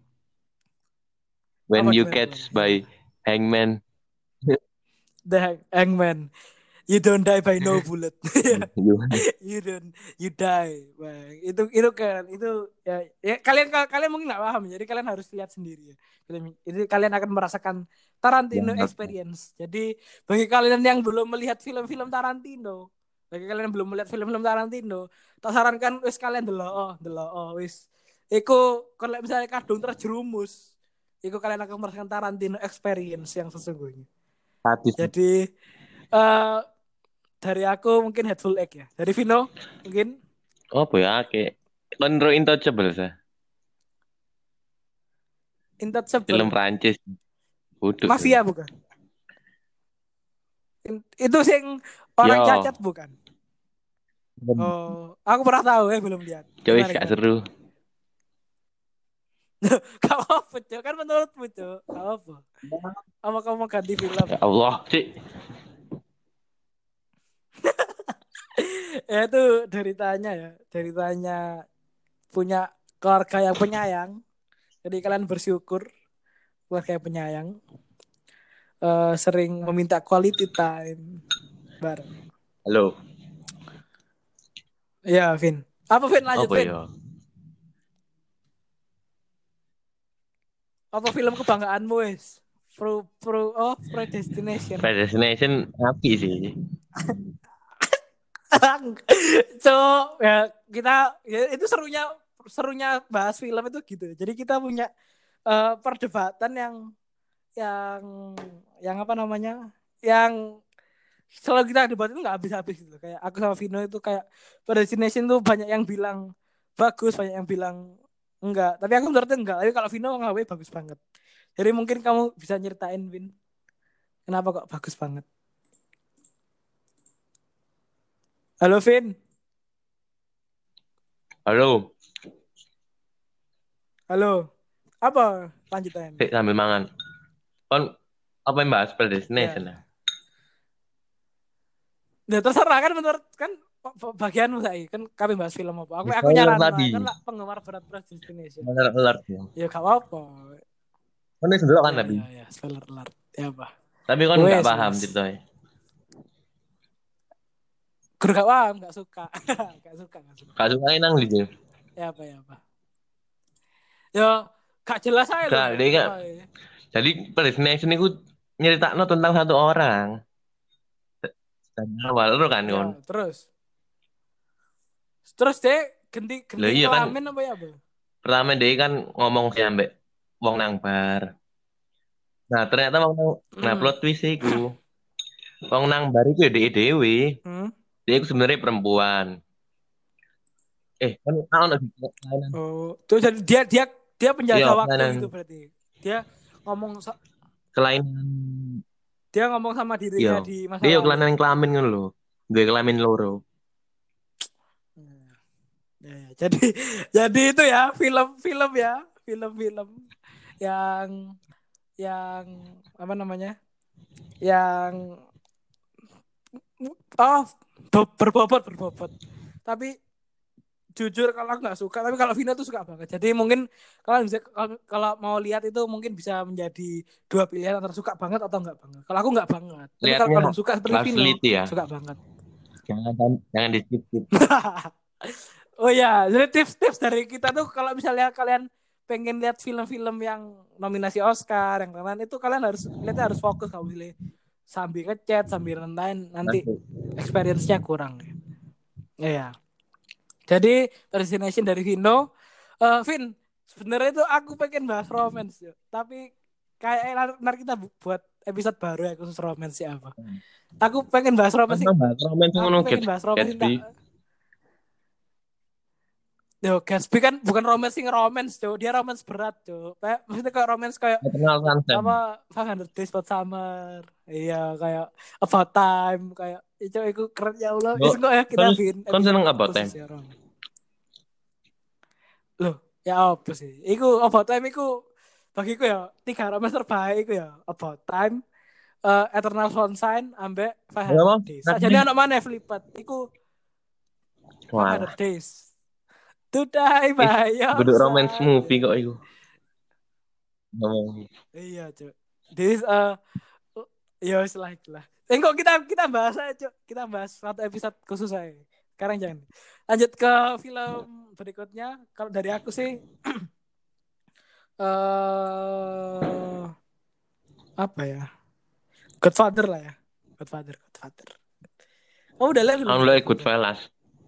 When apa you gimana gimana catch by gimana hangman. The Hang- Hangman you don't die by no bullet You- you don't you die bang itu itu kan itu ya, ya kalian kalian mungkin nggak paham jadi kalian harus lihat sendiri ya itu kalian akan merasakan Tarantino experience jadi bagi kalian yang belum melihat film-film Tarantino bagi kalian yang belum melihat film-film Tarantino tak sarankan wis kalian delok oh delok oh wis iku kalau misalnya kadung terjerumus iku kalian akan merasakan Tarantino experience yang sesungguhnya Habis. jadi uh, dari aku mungkin Hateful Eight ya. Dari Vino mungkin Oh boy, oke. Konro Intouchable sah. Film Intouchable. Prancis. Buduk. Mafia bukan? Itu sih orang Yo. cacat bukan? Oh, aku pernah tahu ya belum lihat. Coba Gimana, gak gimana? seru. Gak apa, Cok. Kan menurutmu, Cok. Gak apa. Apa kamu mau ganti film? Ya Allah, sih. Ya itu ceritanya ya. Ceritanya punya keluarga yang penyayang. Jadi kalian bersyukur keluarga yang penyayang. Uh, sering meminta quality time bareng. Halo. Ya, Vin. Apa Vin lanjut, Apa Vin? ya? Apa film kebanggaanmu wes? Pro pro oh Predestination. Predestination api sih. So ya kita ya, itu serunya serunya bahas film itu gitu. Jadi kita punya uh, perdebatan yang yang yang apa namanya? Yang selalu kita debat itu nggak habis-habis gitu. Kayak aku sama Vino itu kayak Predestination tuh banyak yang bilang bagus, banyak yang bilang enggak. Tapi aku menurutnya enggak. Tapi kalau Vino ngawe bagus banget. Jadi mungkin kamu bisa nyeritain Vin. Kenapa kok bagus banget? Halo Vin. Halo. Halo. Apa lanjutannya? Sik sambil mangan. Kon apa yang bahas Predestination Ya. ya? Ya terserah kan menurut kan bagianmu saya kan kami bahas film apa. Aku Ya, aku nyaran lah tadi. kan lah penggemar berat Predestination. Spoiler alert ya. Ya gak apa-apa. Kon wis ndelok kan Ya tapi. ya ya spoiler alert. Ya apa? Tapi kon Wes, enggak paham wes. ceritanya. Gue gak paham, gak suka. gak suka, gak suka. Gak suka nang gitu. Ya apa ya apa. Ya gak jelas aja Gak, loh. dia kan. Jadi Predestination itu nyeritakno tentang satu orang. Dan awal lu kan Ya, kon. terus. Terus deh ganti ganti Lah iya kan. kelamin apa ya, Bu? Pertama dia kan ngomong sih ambek wong nang bar. Nah, ternyata wong nang nah Hmm. plot twist iku. Wong nang bar iku ya dhek dhewe. Hmm. Dia iku sebenarnya perempuan. Eh, kan ono di kelainan. Oh, tuh jadi dia dia dia Iya, penjaga waktu kelainan gitu berarti. Dia ngomong sa- kelainan. dia ngomong sama Iya. dirinya di masa Dia yo lalu. kelainan kelamin ngono lho. Gue kelamin loro. Hmm. Ya, ya. Jadi jadi itu ya film-film ya, film-film yang yang apa namanya? Yang oh be- berbobot berbobot. Tapi jujur kalau aku nggak suka, tapi kalau Vino tuh suka banget. Jadi mungkin kalau bisa kalau, kalau mau lihat itu mungkin bisa menjadi dua pilihan antara suka banget atau nggak banget. Kalau aku nggak banget. Tapi kalau Lihatnya kalian suka seperti harus Vino, teliti ya. suka banget. Jangan jangan di skip. Oh ya, jadi tips-tips dari kita tuh kalau misalnya kalian pengen lihat film-film yang nominasi Oscar, yang lain-lain itu kalian harus lihatnya harus fokus kalau pilih sambil ngechat, sambil nonton nanti Masuk. experience-nya kurang. Iya. Jadi destination dari Vino, uh, Vin, sebenarnya itu aku pengen bahas romance ya, tapi kayak nanti kita buat episode baru ya khusus romance apa. Aku pengen bahas romance sih. Kan bahas romen Aku ngono pengen bahas romance sih. Gatsby. Yo, Gatsby kan bukan romance sing romance, Cuk. Dia romance berat, Cuk. Kayak maksudnya kayak romance kayak Eternal Sunshine. apa five hundred Days of Summer. Iya, kayak About Time, kayak itu itu keren ya Allah. Yo, Itu kok ya kita kon bikin kon episode seneng apa khusus tem? ya romance. Loh, ya apa sih? Iku About Time iku bagiku ya tiga romance terbaik iku ya About Time, uh, Eternal Sunshine, ambek Ya five hundred mau, Days. nanti Sajane anak mana Flipat? Iku five hundred walah. Days. To die Is by your kudu romance side. movie kok iku. Ngomong. Iya, Cuk. This uh ya wis lah itulah. Eh, kok kita kita bahas aja, Cuk. Kita bahas satu episode khusus aja. Sekarang jangan. Lanjut ke film berikutnya. Kalau dari aku sih eh apa ya? Godfather lah ya. Godfather, Godfather. Oh, udah lihat belum tuh Alhamdulillah Godfather? Goodfellas.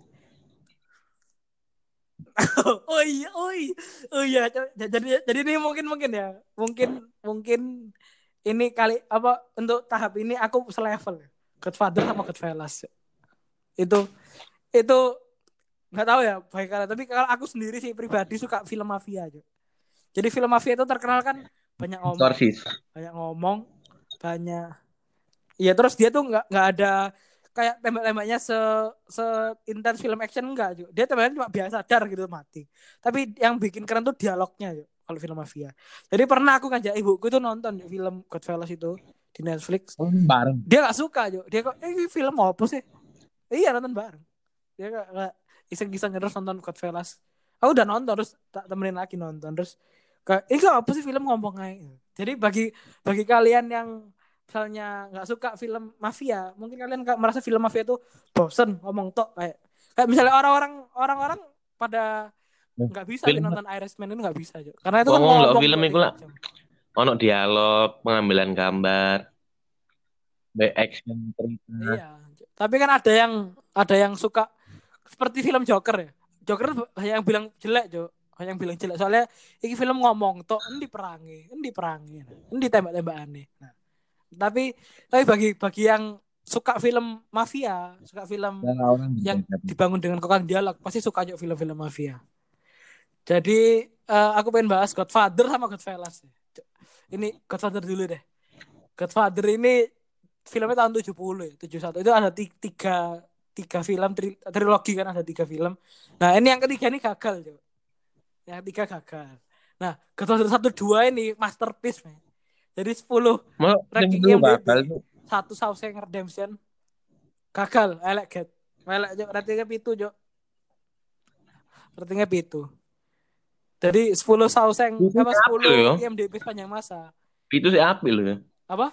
Oh iya, oh iya. Oh iya, Cuk. jadi jadi ini mungkin mungkin ya. Mungkin mungkin ini kali apa untuk tahap ini aku selevel ya. Godfather sama Godfellas. Itu itu nggak tahu ya baik kalian, tapi kalau aku sendiri sih pribadi suka film mafia aja. Jadi film mafia itu terkenal kan banyak ngomong, Exorcist. banyak ngomong, banyak. Iya, terus dia tuh nggak nggak ada kayak tembak-tembaknya se se intens film action enggak juga. Dia tembaknya cuma biasa dar gitu mati. Tapi yang bikin keren tuh dialognya yuk kalau film mafia. Jadi pernah aku ngajak ibuku tuh nonton yuk, film Goodfellas itu di Netflix. Oh, bareng. Dia nggak suka yuk. Dia kok eh, ini film apa sih? Iya nonton bareng. Dia kayak iseng-iseng terus nonton Goodfellas. Aku udah nonton terus tak temenin lagi nonton terus kayak ini apa sih film ngomong aja. Jadi bagi bagi kalian yang misalnya nggak suka film mafia, mungkin kalian merasa film mafia itu bosen ngomong tok kayak kayak misalnya orang-orang orang-orang pada nggak bisa Film nonton Irishman itu nggak bisa aja karena itu kan ngomong lo ngomong film dua iku tiga lah. jam. Ono dialog, pengambilan gambar, baik action cerita. Iya, tapi kan ada yang ada yang suka seperti film Joker ya. Joker hanya yang bilang jelek, Jo. Hanya yang bilang jelek soalnya ini film ngomong tok endi perangi, endi perangi, endi tembak-tembakane. Nah, tapi tapi bagi bagi yang suka film mafia, suka film Nah, orang yang beda. dibangun dengan kokang dialog, pasti suka juga film-film mafia. Jadi uh, aku pengen bahas Godfather sama Goodfellas. Ini Godfather dulu deh. Godfather ini filmnya tahun tujuh puluh ya, tujuh puluh satu. Itu ada tiga tiga film tri, trilogi kan ada tiga film. Nah, ini yang ketiga ini gagal, coba. Yang ketiga gagal. Nah, Godfather satu dua ini masterpiece, man. Jadi sepuluh Mau ranking dulu I M D B. gagal tuh. satu Shawshank Redemption gagal, elek get. Elek jo, ratingnya pitu, Jo. Ratingnya pitu. Jadi sepuluh Shawshank Itu apa si apil sepuluh yo. I M D B sepanjang masa. Itu si apil loh. Apa?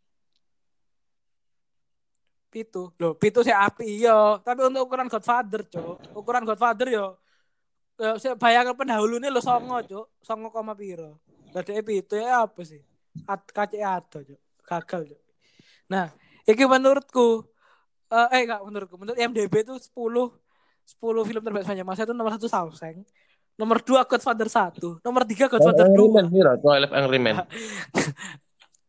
Pitu. Loh, pitu sih api yo. Tapi untuk ukuran Godfather, Cok. Ukuran Godfather yo. Ya, saya bayangkan pendahulunya lo songo, Cok. Songo koma piro. Lah dhek pitu ya apa sih? At kace ado, Cok. Gagal, Cok. Nah, iki menurutku uh, eh enggak menurutku, menurut I M D B itu sepuluh sepuluh film terbaik sepanjang masa itu nomor satu Shawshank. Nomor dua Godfather satu. Nomor tiga Godfather Angry Man, dua. Mira, Twilight Angry Man.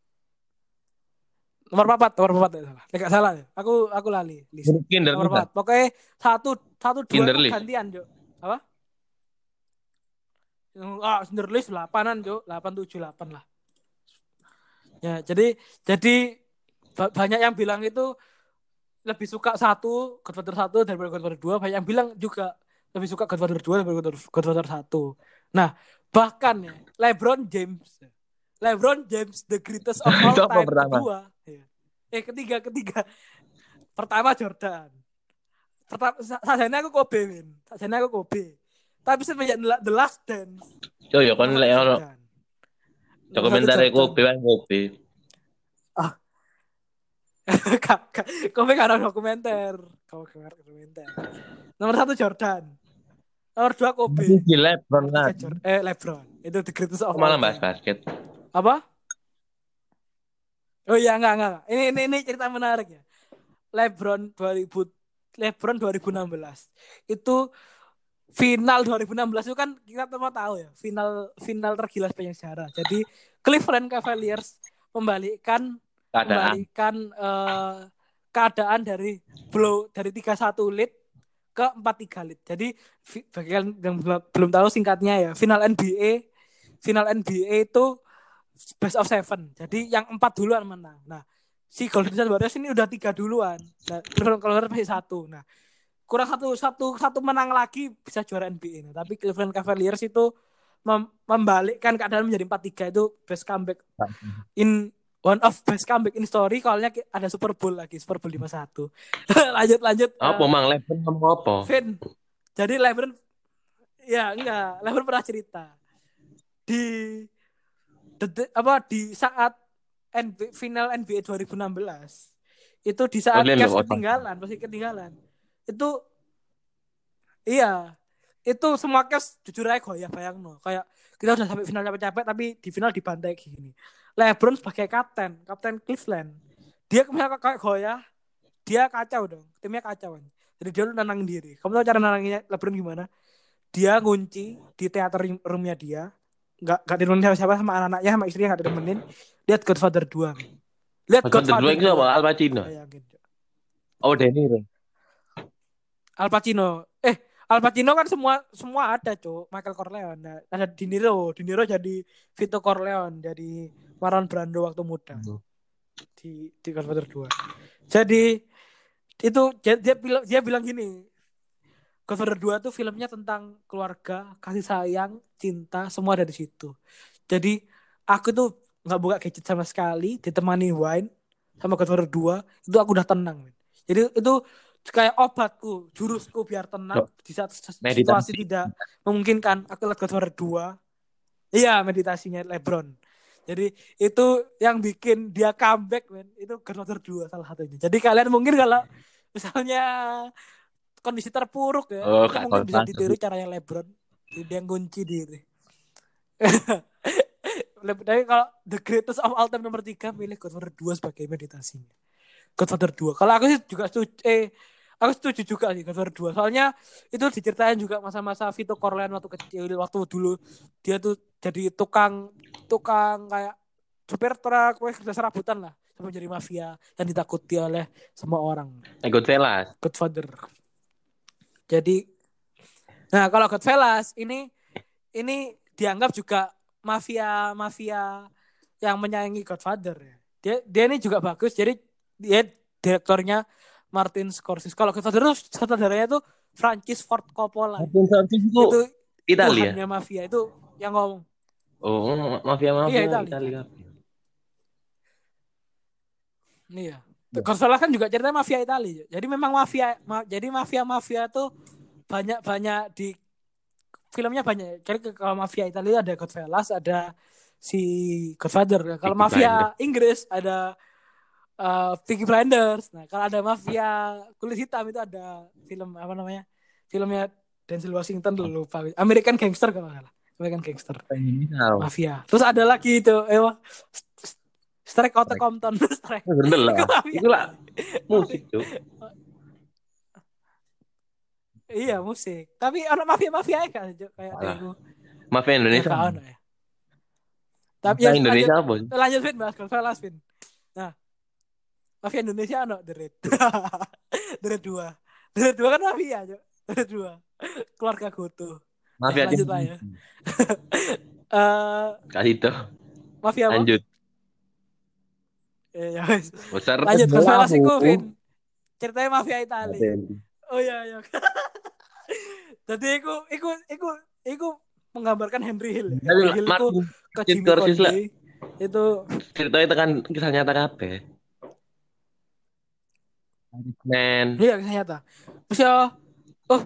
Nomor papat, nomor papat ya salah. Enggak salah ya. Aku aku lali list. Nomor Kinderlist. papat. Pokoknya satu satu dua itu Kinderlist. gantian, Cuk. Apa? Ah, Cinderlist delapanan, Cuk. delapan tujuh delapan lah. Ya, jadi jadi banyak yang bilang itu lebih suka satu Godfather satu daripada Godfather dua. Banyak yang bilang juga lebih suka Godfather dua daripada Godfather satu. Nah, bahkan ya LeBron James LeBron James the greatest of all Itu apa time pertama? kedua. Eh ketiga ketiga. Pertama Jordan. Pertama sajane aku Kobe, Win. Sajane aku Kobe. Tapi semenjak The Last Dance Yo yo kan nomor lek satu ono Jordan. Nomor satu dokumenter Jordan. Kobe kan Kobe. Ah, Kobe karena dokumenter. Kobe karena dokumenter. Nomor satu Jordan. Nomor dua Kobe. Masih di LeBron Nomor kan. tiga Jordan. Eh LeBron. Itu the greatest of Kok all malah bahas time. basket. Apa? Oh iya enggak enggak. Ini ini ini cerita menarik ya. LeBron dua ribu LeBron dua ribu enam belas. Itu final dua ribu enam belas itu kan kita semua tahu ya, final final tergila sepanjang sejarah. Jadi Cleveland Cavaliers membalikkan Keadaan. membalikkan uh, keadaan dari blow dari tiga satu lead ke empat tiga lead. Jadi bagi kalian yang belum tahu singkatnya ya, final N B A final N B A itu best of seven. Jadi yang empat duluan menang. Nah, si Golden State Warriors ini udah tiga duluan. Nah, Cleveland Cavaliers masih satu. Nah, kurang satu satu satu menang lagi bisa juara N B A. Nah, tapi Cleveland Cavaliers itu mem- membalikkan keadaan menjadi empat tiga itu best comeback in one of best comeback in story. Kalau ada Super Bowl lagi, Super Bowl lima satu. lanjut lanjut Apa uh, mang LeBron ngomong apa? Vin. Jadi LeBron ya enggak, LeBron pernah cerita di de, apa di saat N B A, final N B A dua ribu enam belas itu di Oh, saat dia Cavs loh, ketinggalan, masih ketinggalan. Itu iya, itu semua Cavs jujur aja goyah bayang no. Kayak kita udah sampai final capek-capek tapi di final dibantai gini. LeBron sebagai kapten, kapten Cleveland, dia kemarin kayak goyah, dia kacau dong, timnya kacau. Jadi dia udah nenangin diri. Kamu tahu cara nenanginnya LeBron gimana? Dia ngunci di teater roomnya dia, nggak nggak ditemenin siapa-siapa sama anak-anaknya sama istrinya nggak ditemenin. Lihat Godfather dua, men. Lihat Godfather dua Godfather itu apa? dua. Al Pacino. Bayangin. Oh, De Niro. Al Pacino. Eh, Al Pacino kan semua semua ada, Cuk. Michael Corleone. Nah, ada De Niro. De Niro jadi Vito Corleone, jadi Marlon Brando waktu muda. Hmm. Di di Godfather dua. Jadi itu dia, dia bilang dia bilang gini. Godfather dua tuh filmnya tentang keluarga, kasih sayang, cinta, semua ada di situ. Jadi aku tuh nggak buka gadget sama sekali, ditemani wine sama Godfather dua, itu aku udah tenang. Men. Jadi itu kayak obatku, jurusku biar tenang Oh, di saat situasi meditasi. tidak memungkinkan. Aku lihat Godfather dua. Iya, meditasinya LeBron. Jadi itu yang bikin dia comeback, men. Itu Godfather dua salah satunya. Jadi kalian mungkin kalau misalnya kondisi terpuruk ya, Oh, itu Kak mungkin bisa Godfather. ditiru caranya LeBron. Jadi dia ngunci diri. Tapi kalau the greatest of all time nomor tiga milih Godfather dua sebagai meditasinya. Godfather dua. Kalau aku sih juga setuju, eh aku setuju juga sih Godfather dua. Soalnya itu diceritain juga masa-masa Vito Corleone waktu kecil, waktu dulu dia tuh jadi tukang tukang kayak supir truk, weh kerja serabutan lah, sampai jadi mafia yang ditakuti oleh semua orang. Goodfellas. Godfather. Jadi, nah kalau Goodfellas ini ini dianggap juga mafia mafia yang menyayangi Godfather ya. Dia dia ini juga bagus. Jadi dia direktornya Martin Scorsese. Kalau Godfather itu sutradaranya itu Francis Ford Coppola. Martin Scorsese itu Itu Italia. Tuhannya mafia itu yang ngomong. Oh, Iya mafia-mafia Italia. Italia. Iya. Godzilla kan juga ceritanya mafia Italia. Jadi memang mafia ma- jadi mafia-mafia tuh banyak-banyak di filmnya banyak. Jadi kalau mafia Italia ada Goodfellas, ada si Godfather. Kalau Peaky Blinders. mafia Inggris ada uh, Peaky Blinders. Nah, kalau ada mafia kulit hitam itu ada film apa namanya? Filmnya Denzel Washington dulu lupa. American Gangster kalau nggak salah. American Gangster. Kriminal. Mafia. Terus ada lagi itu, eh Strike Out Compton. Strike. Bener lah. Itu mafia. Itu lah musik tuh. Iya musik. Tapi orang mafia-mafia kan kayak itu. Mafia Indonesia. Ya, kawan, ya. Tapi Mafia ya Indonesia lanjut apa? lanjut Vin bahas Goodfellas Vin. Nah, Mafia Indonesia ono The Raid. The Raid dua. The Raid dua kan mafia, Cok. The Raid dua. Keluarga Goto. Ya, Mafia lanjut lah ya. Eh Kasih itu. mafia apa? Lanjut. Eh, ya wes. Besar Lanjut bola Goodfellas iku, aku. Vin. Ceritanya mafia Itali. Oh iya iya. Jadi iku iku iku iku menggambarkan Henry Hill. Ya. Henry Hill iku ke Jimmy Conde. Itu ceritanya tekan kisah nyata kabeh. Man. Iya kisah nyata. Terus ya oh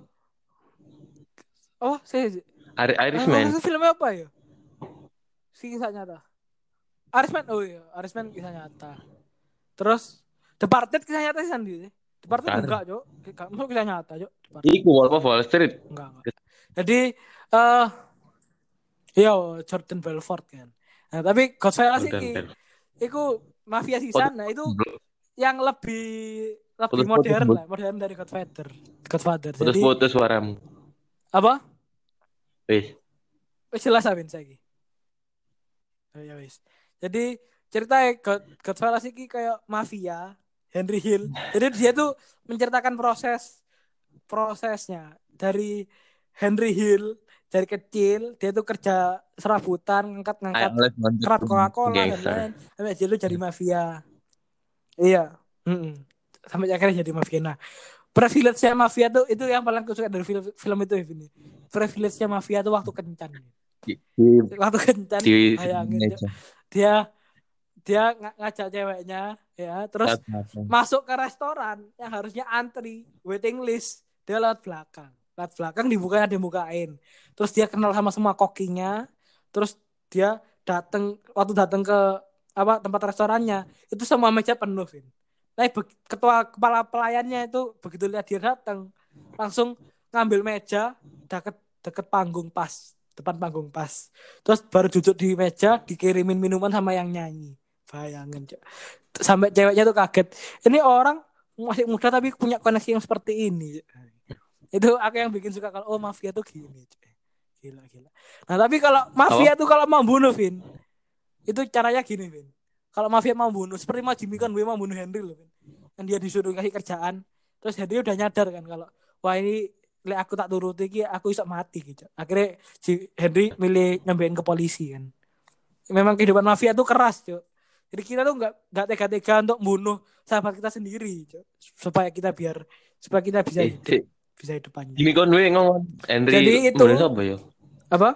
oh saya Ari oh, Irishman. itu filmnya apa ya? Si kisah nyata. Irishman, oh iya, Irishman kisah nyata. Terus Departed kisah nyata sih sendiri. Departed Bentar. enggak, Cok. Kamu kisah nyata, Cok. Iku Wolf of Wall Street. Enggak, enggak. Jadi eh uh, iya Jordan Belfort kan. Nah, tapi Godfather sih ki iku mafia di sana itu yang lebih lebih putus, modern putus, lah, modern dari Godfather. Godfather. Putus, Jadi putus suaramu. apa? Wis. Wis jelas Abin saiki. Oh ya wis. Jadi cerita God, Godfather sih kayak mafia Henry Hill. Jadi dia tuh menceritakan proses prosesnya dari Henry Hill dari kecil dia tuh kerja serabutan ngangkat-ngangkat kerat Coca-Cola dan lain sampai dia tuh jadi mafia. Iya. Mm-mm. Sampai akhirnya jadi mafia. Nah, privilege-nya mafia tuh itu yang paling aku suka dari film, film itu ini. Privilege-nya mafia tuh waktu kencan. Di, di, waktu kencan di, bayangin di, dia dia ng- ngajak ceweknya ya terus Satu. masuk ke restoran yang harusnya antri waiting list dia lewat belakang lewat belakang dibuka ada bukain terus dia kenal sama semua kokinya terus dia datang waktu datang ke apa tempat restorannya itu semua meja penuh Vin. Nah, ketua kepala pelayannya itu begitu lihat dia datang langsung ngambil meja deket deket panggung pas depan panggung pas terus baru duduk di meja dikirimin minuman sama yang nyanyi. Bayangin Cok. Sampai ceweknya tuh kaget ini orang masih muda tapi punya koneksi yang seperti ini. Itu aku yang bikin suka kalau oh mafia tuh gini Cok. Gila gila. Nah tapi kalau mafia oh. tuh kalau mau bunuh Vin itu caranya gini Vin. Kalau mafia mau bunuh seperti mau Jimmy Conway mau bunuh Henry loh Vin. Dan dia disuruh kasih kerjaan terus Henry udah nyadar kan kalau wah ini lek aku tak turuti iki aku iso mati gitu. Akhirnya si Henry milih nyampein ke polisi kan. Memang kehidupan mafia tuh keras, Cuk. Jadi kita tuh enggak enggak tega-tega untuk bunuh sahabat kita sendiri, Cuk. Supaya kita biar supaya kita bisa hidup, eh, bisa hidup panjang. Jimmy Conway ngomong Henry. Jadi itu apa ya? Apa?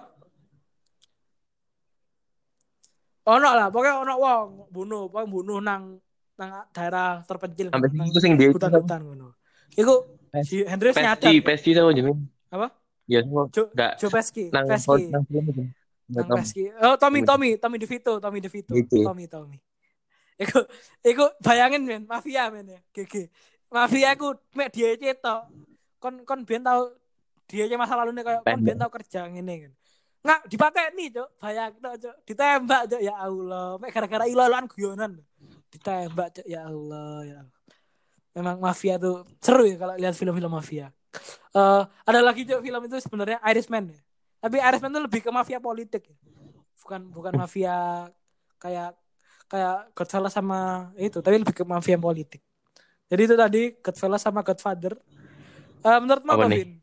Ono lah, pokoknya ono wong bunuh, pokoknya bunuh nang nang daerah terpencil sampai nang itu sing dia hutan-hutan ngono. Iku si Henry nyadar. Pesci, Pesci sama Jimmy. Apa? Ya, enggak. Joe Pesci, nang Pesci. nang film itu. Nang Pesci. Oh, Tommy, Tommy, Tommy DeVito, Tommy DeVito. Gitu. Tommy, Tommy. Iku iku bayangin men, mafia men ya. G G. Mafia iku mek dia cetok. Kon kon ben tau dia masa lalune kayak kon ben tau kerja ngene kan. Nggak dipateni, Cuk. Bayangin Cuk. Ditembak, Cuk. Ya Allah, mek gara-gara ilo-iloan guyonan. Ditembak, Cuk. Ya Allah, ya Allah. Memang mafia tuh seru ya kalau lihat film-film mafia. Uh, ada lagi Cuk film itu sebenarnya Irishman ya. Tapi Irishman itu lebih ke mafia politik ya. Bukan bukan mafia kayak kayak Godfather sama itu, tapi lebih ke mafia politik. Jadi itu tadi Godfather sama Godfather. Uh, menurut apa, Vin?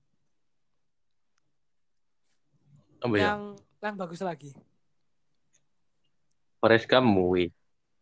Apa ya? Yang yang bagus lagi. Forrest Gump movie.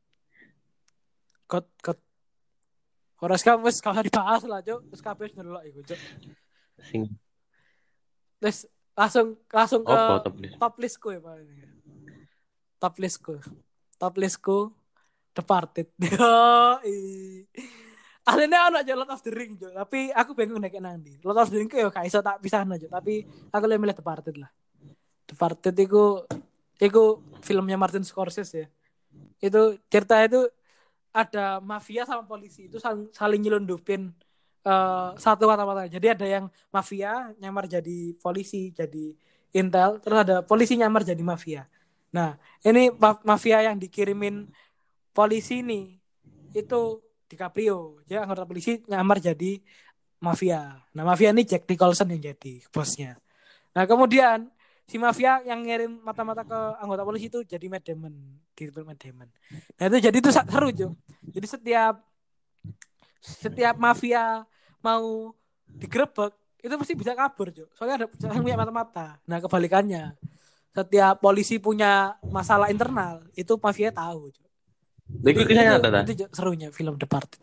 God God Forrest Gump wis kalau dibahas lah, Cuk. Wis kabeh ndelok iku, Cuk. Sing. Terus langsung langsung ke oh, top list. top listku ya, Pak. Top listku. Top listku Departed. Yo, aslinya ana Lord of the Ring, Jo. Tapi aku bingung nek nang ndi. Lord of the Ring ku yo gak iso tak pisahno, Jo. Tapi aku lebih milih Departed lah. Departed iku iku filmnya Martin Scorsese ya. Itu cerita itu ada mafia sama polisi itu saling, saling nyelundupin uh, satu mata-mata. Jadi ada yang mafia nyamar jadi polisi, jadi intel, terus ada polisi nyamar jadi mafia. Nah, ini mafia yang dikirimin polisi nih itu DiCaprio. Dia anggota polisi nyamar jadi mafia. Nah, mafia ini Jack Nicholson yang jadi bosnya. Nah, kemudian si mafia yang ngirim mata-mata ke anggota polisi itu jadi Matt Damon, direktur Matt Damon. Nah itu jadi itu seru Jo. Jadi setiap setiap mafia mau digerebek itu pasti bisa kabur Jo. Soalnya ada yang punya mata-mata. Nah kebalikannya, setiap polisi punya masalah internal itu mafia tahu Jo. Itu Jadi kisah itu nyata ta? itu Jo, serunya film The Departed.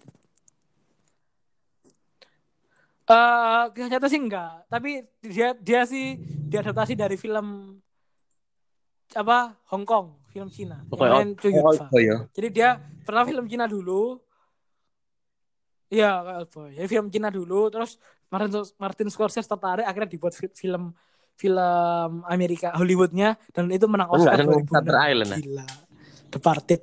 Eh, kisah nyata sih enggak, tapi dia dia sih diadaptasi dari film apa Hong Kong, film Cina yang Pokoknya main out Chow Yun out Fat. ya. Jadi dia pernah film Cina dulu, iya kayak Oldboy. Jadi film Cina dulu, terus Martin Martin Scorsese tertarik akhirnya dibuat film film Amerika Hollywoodnya dan itu menang Kan nggak Oscar seneng Shutter dua ribu enam. Island ya? Gila. Departed.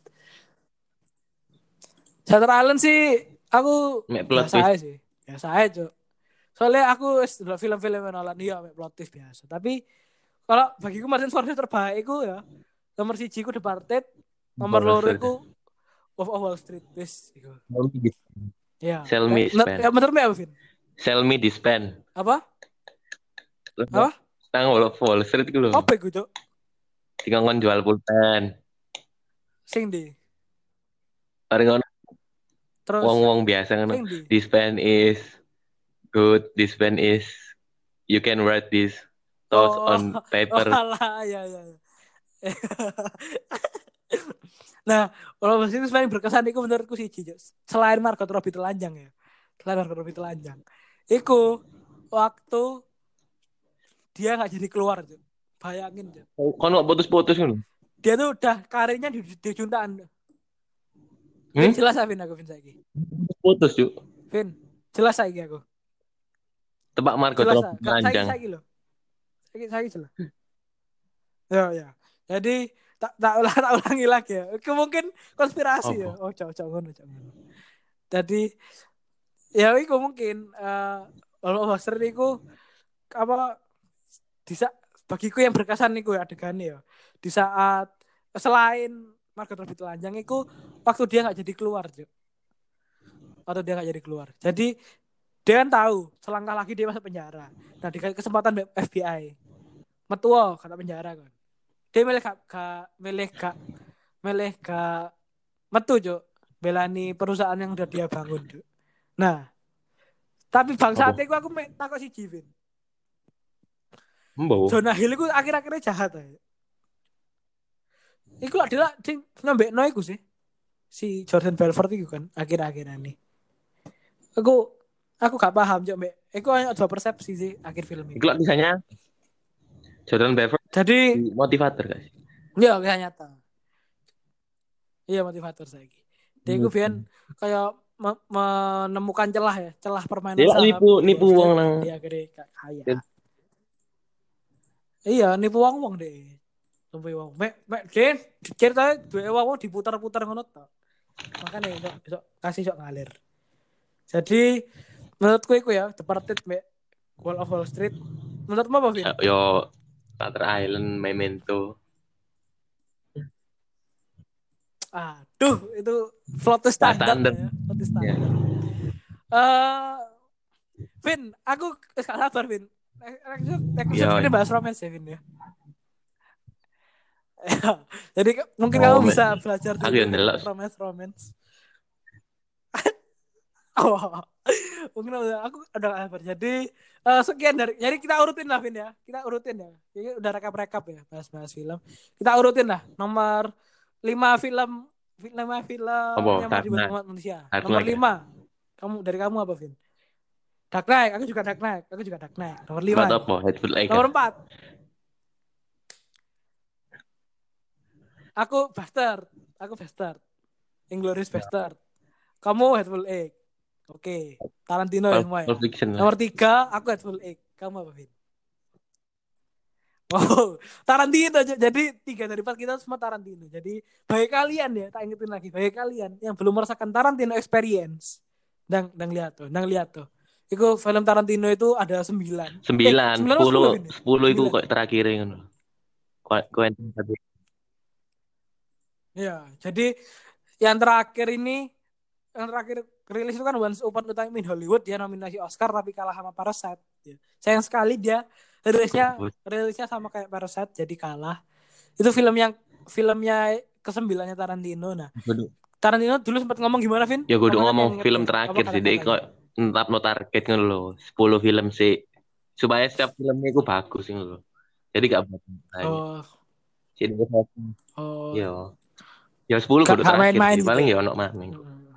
Shutter Island sih aku Mek plot biasa twist. aja sih, biasa aja Cuk. Soalnya aku sudah film-film Nolan iya mek plot twist biasa. Tapi kalau bagiku Martin Scorsese terbaik itu ya nomor siji ku Departed, nomor loro Bullshit. iku Wolf of Wall Street wis iku. Ya, Sell ya, me ya span. menurutmu apa, Vin? Sell me dispan. Apa? Apa? Nang Wall of Wall Street ku lho. Apa iku, Cuk? Dikongkon jual pulpen. Sing di. Bareng ngono Terus wong-wong biasa ngono. sing di. This pen is good. This pen is you can write this toast Oh, on oh paper. alah, ya ya. ya. Nah, kalau bahasa itu paling berkesan itu menurutku sih, Cuk. Selain Margot Robbie telanjang ya. Selain Margot Robbie telanjang. Iku waktu dia nggak jadi keluar, Cuk. Bayangin, Cuk. Kono putus-putus ngono. Dia tuh udah karirnya di, di juntaan. Vin, Hmm? jelas Vin aku Vin saiki. Putus, Cuk. Vin, jelas saiki aku. Tebak Margot Jelas Robbie ah. Saiki panjang. saiki loh. Saiki saiki jelas. Ya ya. Jadi tak tak ulang tak ulangi lagi ya. Itu mungkin konspirasi ya. Apa? Oh, cok cok ngono cok ngono. Jadi ya itu mungkin eh kalau Buster itu apa di saat bagiku yang berkesan niku ya adegan ya. Di saat selain Margot Robbie telanjang itu waktu dia nggak jadi keluar, Cok. Waktu dia nggak jadi keluar. Jadi dia kan tahu selangkah lagi dia masuk penjara. Nah, dikasih kesempatan F B I. Metuo kata penjara kan. Dia milih gak, gak milih gak milih gak metu Cok. Belani perusahaan yang udah dia bangun, Cok. Nah, tapi bangsa Apa? aku aku takut si Jivin. Mbok. Jonah Hill itu akhir-akhirnya jahat aja. Iku adalah sing ngambekno iku sih. Si Jordan Belfort itu kan akhir-akhir ini. Aku aku gak paham Cok, Mbak. Iku hanya dua persepsi sih akhir film ini. Itu lah misalnya Jordan Belfort Jadi motivator guys. ya kisah nyata. Iya motivator saya. Dia itu biar Hmm. kayak me- menemukan celah ya, celah permainan Dia saham nipu di nipu Wall wong Street nang dan dia akhirnya kaya. Iya, nipu wong wong deh. Nipu wong. Mek mek Den, ceritanya dua wong diputar-putar ngono to. Makanya sok sok kasih sok ngalir. Jadi menurutku itu ya, Departed Mek Wall of Wall Street. Menurutmu apa, Vin? yo Shutter Island, Memento. Aduh, itu plot twist Gak standar standar. ya, plot twist Ya. standar. Eh, Vin, aku gak sabar, Vin. Episode Yo. ini bahas romance ya, Vin ya. Jadi mungkin Oh, kamu man. bisa belajar Aku dulu yang ndelok. romance romance. Oh, mungkin aku udah gak sabar. Jadi eh, sekian dari, jadi kita urutin lah, Vin ya. Kita urutin ya. Jadi udah rekap-rekap ya, bahas-bahas film. Kita urutin lah. Nomor lima film, lima film Apa? yang Dark dibuat Knight. umat manusia. Dark Nomor Knight, ya? lima. Kamu dari kamu apa, Vin? Dark Knight, aku juga Dark Knight, aku juga Dark Knight. Nomor lima. Buat Ya. apa? Hateful Eight. Nomor empat. Aku Bastard, aku Bastard. Inglourious Bastard. Kamu Hateful Eight. Oke, Tarantino ya semua ya. Pulp Fiction lah. Nomor tiga, aku Hateful Eight. Kamu apa, Vin? Oh, Tarantino. Jadi tiga dari empat kita semua Tarantino. Jadi bagi kalian ya, tak ingetin lagi. Bagi kalian yang belum merasakan Tarantino experience, dan dan lihat tuh, dan lihat tuh. Itu film Tarantino itu ada sembilan. Sembilan, Eh, sembilan atau sepuluh, sepuluh, Vin? sepuluh itu Sembilan. kok terakhir ngono. Quentin Tarantino. Ya, jadi yang terakhir ini, yang terakhir rilis itu kan Once Upon a Time in Hollywood, dia nominasi Oscar tapi kalah sama Parasite. Ya. Sayang sekali dia rilisnya rilisnya sama kayak Parasite jadi kalah. Itu film yang filmnya kesembilannya Tarantino. Nah, Kudu- Tarantino dulu sempat ngomong gimana, Vin? Ya kudu Apa kan yang ngomong inget film ya? Apa terakhir sih, dek kata-katanya? kok netapno target ngono lho, sepuluh film sih. Supaya setiap filmnya itu bagus ngono lho. Jadi gak banyak. Oh, Jadi oh, yo, ya sepuluh gak, kudu gak terakhir main-main sih. gitu Paling ya. ya ono maneh. Hmm.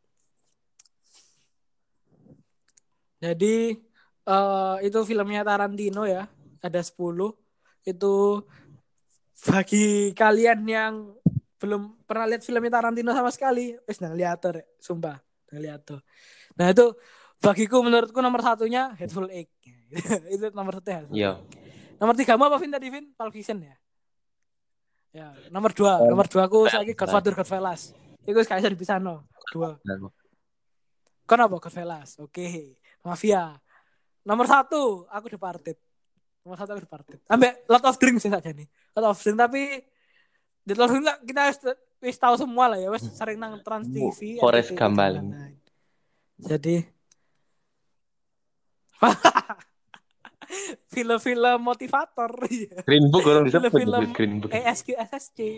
Jadi eh itu filmnya Tarantino ya, ada sepuluh. Itu bagi kalian yang belum pernah lihat filmnya Tarantino sama sekali, wis nang lihat ya, sumpah, nang lihat tuh. Nah, itu bagiku menurutku nomor satunya Hateful Eight. Itu nomor satu Hateful Eight. Iya. Nomor tiga apa Vin tadi Vin? Pulp Fiction ya. Ya, nomor dua, Oh, nomor dua aku saya Goodfellas. Godfather Godfellas. Itu kayak bisa dipisah no. Dua. Nah, Kon apa Goodfellas? Oke. Mafia. Nomor satu aku Departed. Nomor satu aku Departed. Ambek Lot of Dreams sih saja nih. Lot of Dreams tapi di Lot of Dreams kita wis tahu semua lah ya. Wis sering nang Trans T V, Forrest R T T V Gump dan paling. lain-lain. Jadi film-film motivator. Green Book orang disebut Film-film Green Book. E S Q S S C.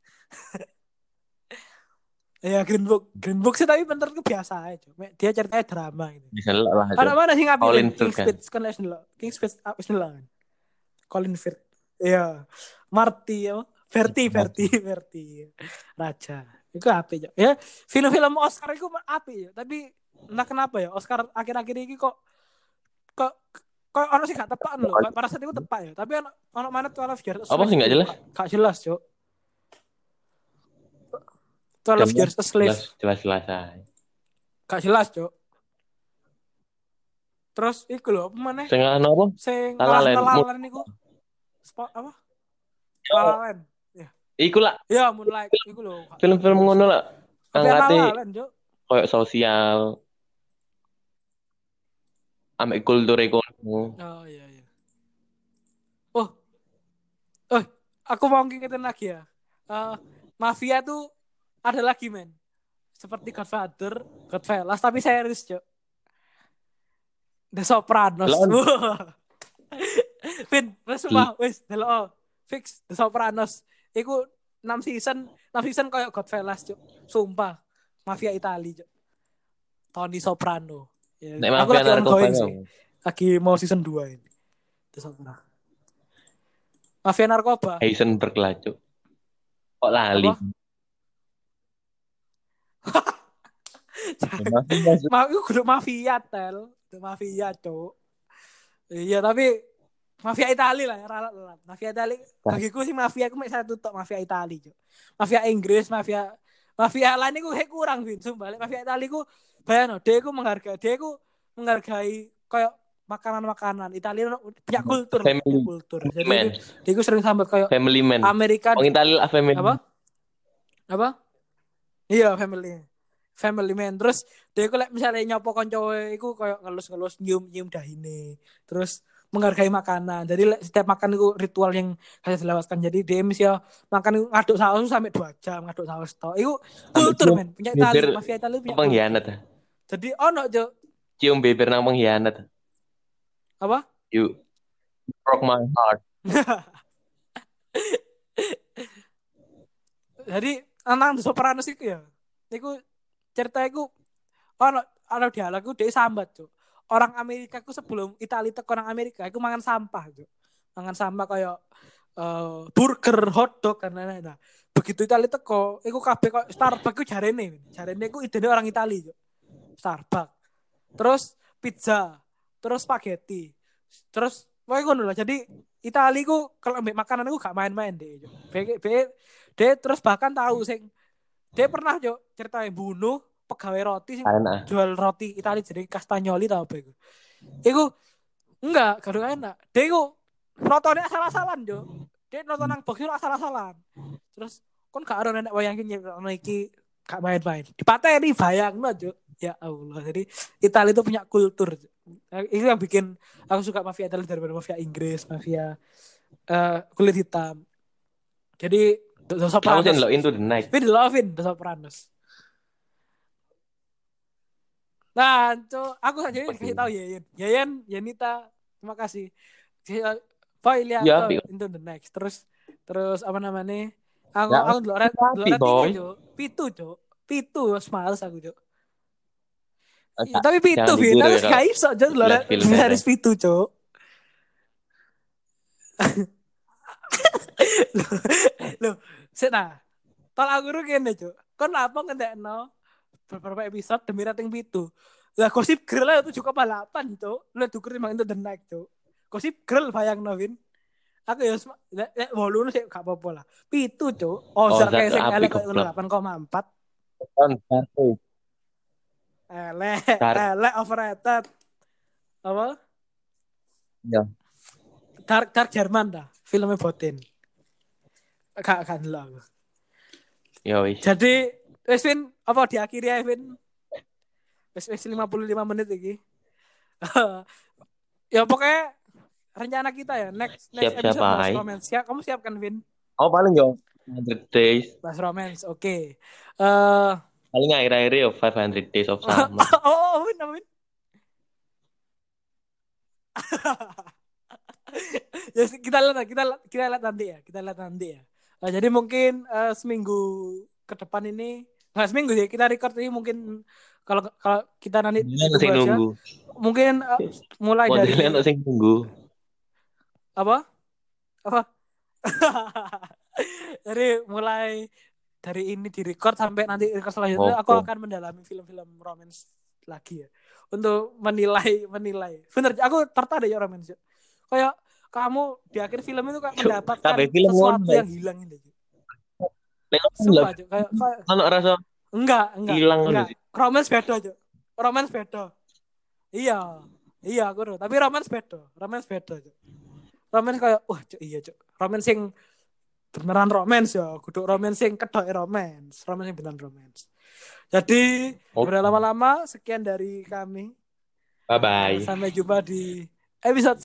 Ya Green Book, Green Book sih tapi menurutku biasa aja. Dia ceritanya drama gitu. Bisa lah itu. Anak mana sih ngapain? Colin King Firth kan. Speed kan les dulu. King Speed apa sih kan? Colin Firth. Iya. Marty ya. Verti, Verti, Verti. Raja. Itu apa ya? Ya, film-film Oscar itu apa ya? Tapi entah kenapa ya Oscar akhir-akhir ini kok kok kok orang sih gak tepat loh. Pada saat itu tepat ya. Tapi anak anak mana tuh Twelve Years a Apa Slave sih itu nggak loh. jelas? Gak, gak jelas, Cok. Twelve Jelas, Years a Slave. jelas, jelas, jelas aja. Gak jelas, Cok. Terus iku lho, apa mana? Setengah apa? Sing La La ngalah Land. Mu- nelalan niku. Spot apa? Lalalan. Ya. Iku lah Ya, Moonlight iku lho, gak gak film-film jelas. ngono lah. Tapi Angkate Lalalan, Cok. koyo sosial, ambek kultur ekonomi. Oh iya iya. Oh, eh aku mau ngingetin lagi ya. Eh, Mafia tuh ada lagi, men. Seperti Godfather, Goodfellas tapi series, Cok. The Sopranos. Lan, Wah. Vin, wes sumpah, wes delok fix The Sopranos. Iku enam season, enam season kayak Godfellas, Cuk. Sumpah. Mafia Itali, Cuk. Tony Soprano. Ya, nek aku mafia lagi narkoba ongoing sih. dong. Lagi mau season dua ini. The Sopranos. Mafia narkoba. Heisenberg lah, Cuk. Kok lali? Apa? Mafia Ma itu kudu mafia tel, kudu mafia, Cuk. Iya, tapi mafia Itali lah ya, ralat ralat. Mafia Itali bagiku sih mafia aku mek satu tok mafia Itali, Cuk. Mafia Inggris, mafia mafia lain iku kayak kurang Vin, sumpah. Mafia Itali ku bayano, dia ku menghargai, dia ku menghargai kayak makanan-makanan Italia punya kultur, lah, punya family, kultur. family Jadi man, dia, dia ku sering sambat kayak family man. Amerika Wong Italia lah family. apa? Apa? Iya, family. Family man. Terus dia ku like, misalnya nyopo konco iku kayak ngelus-ngelus nyium-nyium dahine. Terus menghargai makanan. Jadi like, setiap makan itu ritual yang harus dilewatkan. Jadi dia misalnya makan itu ngaduk saus sampai dua jam ngaduk saus tok. Itu Ambek kultur cium men. Punya Itali, bibir mafia Itali punya kultur. pengkhianat. Jadi ono jo Cium bibir nang pengkhianat. apa? You broke my heart. Jadi anak The Sopranos itu ya. Iku cerita iku ono ono dialog iku dia sambat, Cuk. Orang Amerika ku sebelum Italia teko nang Amerika iku mangan sampah, Cuk. Mangan sampah kayak uh, burger, hotdog kan lain-lain. Nah, begitu Italia teko, iku kabeh kok Starbucks iku jarene, jarene iku idene orang Italia, Cuk. Starbucks. Terus pizza, terus spaghetti. Terus wae ngono lah. Jadi Italia ku kalau ambek makanan iku gak main-main deh, Cuk. Be, be, dia terus bahkan tahu sing dia pernah jo ceritain bunuh pegawai roti sing Enak. jual roti Italia jadi Castagnoli tau apa itu. Iku enggak, kadang enak. Dia iku nontonnya asal-asalan jo. Dia nonton nang box itu asal-asalan. Terus kon gak ada nenek wayangin nyiptakno iki gak main-main. Dipateni bayangno jo. Ya Allah. Jadi Italia itu punya kultur. Itu yang bikin aku suka mafia Italia daripada mafia Inggris, mafia uh, kulit hitam. Jadi The Aku sih Sopranos. lo into the night. Tapi lovin The Sopranos. Nah, co, aku saja dikasih tahu Yayan. Yayan, Yanita, terima kasih. Boy lihat Ya tuh apik. Into the Next. Terus terus apa namanya? Aku Ya aku delok delok apik, ratingnya, boy. Cuk. Pitu, Cuk. Pitu wis males aku, Cuk. Ya, Masa, tapi pitu, jangan Vin. ditiru Aku ya kalau gak iso, Cuk. lihat film Harus pendek. pitu, Cuk. Loh, sik nah. Tol aku ru kene, Cuk. Kon apa ngendekno beberapa episode demi rating pitu. Lah Gossip Girl aja tujuh koma delapan, Cuk. Lu dukur emang Into the Night, Cuk. Gossip Girl bayangno, Vin. Aku ya lek lek wolu sih gak apa-apa lah. Pitu, Cuk. Oh, Ozark zat kayak sing apik elek koyo goblok. delapan koma empat. Kan satu. Elek, Dark. elek overrated. Apa? Ya. Dark Dark Jerman dah. Filmnya Botin. Gak gak ndelok aku. Ya wis. Jadi wis Vin, apa diakhiri ya Vin? Wis wis lima puluh lima menit iki. Ya pokoknya rencana kita ya next next Siap-siap episode bahas ae. romance. Ya, kamu siapkan Vin? Oh, paling yo one hundred days. Bahas romance. Oke. Okay. Eh Paling akhir-akhir yo five hundred days of summer. oh, Vin, Vin. Ya kita lihat kita kita lihat nanti ya. Kita lihat nanti ya. Nah, jadi mungkin uh, seminggu ke depan ini nggak seminggu sih kita record ini mungkin kalau kalau kita nanti Modelnya ditunggu sing aja nunggu. mungkin uh, mulai Modelnya dari sing nunggu. apa apa jadi mulai dari ini di record sampai nanti record selanjutnya aku Opo. akan mendalami film-film romance lagi ya untuk menilai menilai bener aku tertarik ya romance kayak kamu di akhir film itu kayak mendapatkan Kabeh film sesuatu ngono. yang hilang ini Nek sumpah aja kayak, kayak ono rasa enggak enggak hilang ngono enggak sih. romance beda aja romance beda iya iya aku tahu tapi romance beda romance beda aja romance kayak wah cuk, iya cuk romance yang beneran romance ya kudu romance yang kedok romance romance yang beneran romance jadi Oke. berlama-lama sekian dari kami Bye uh, bye. sampai jumpa di episode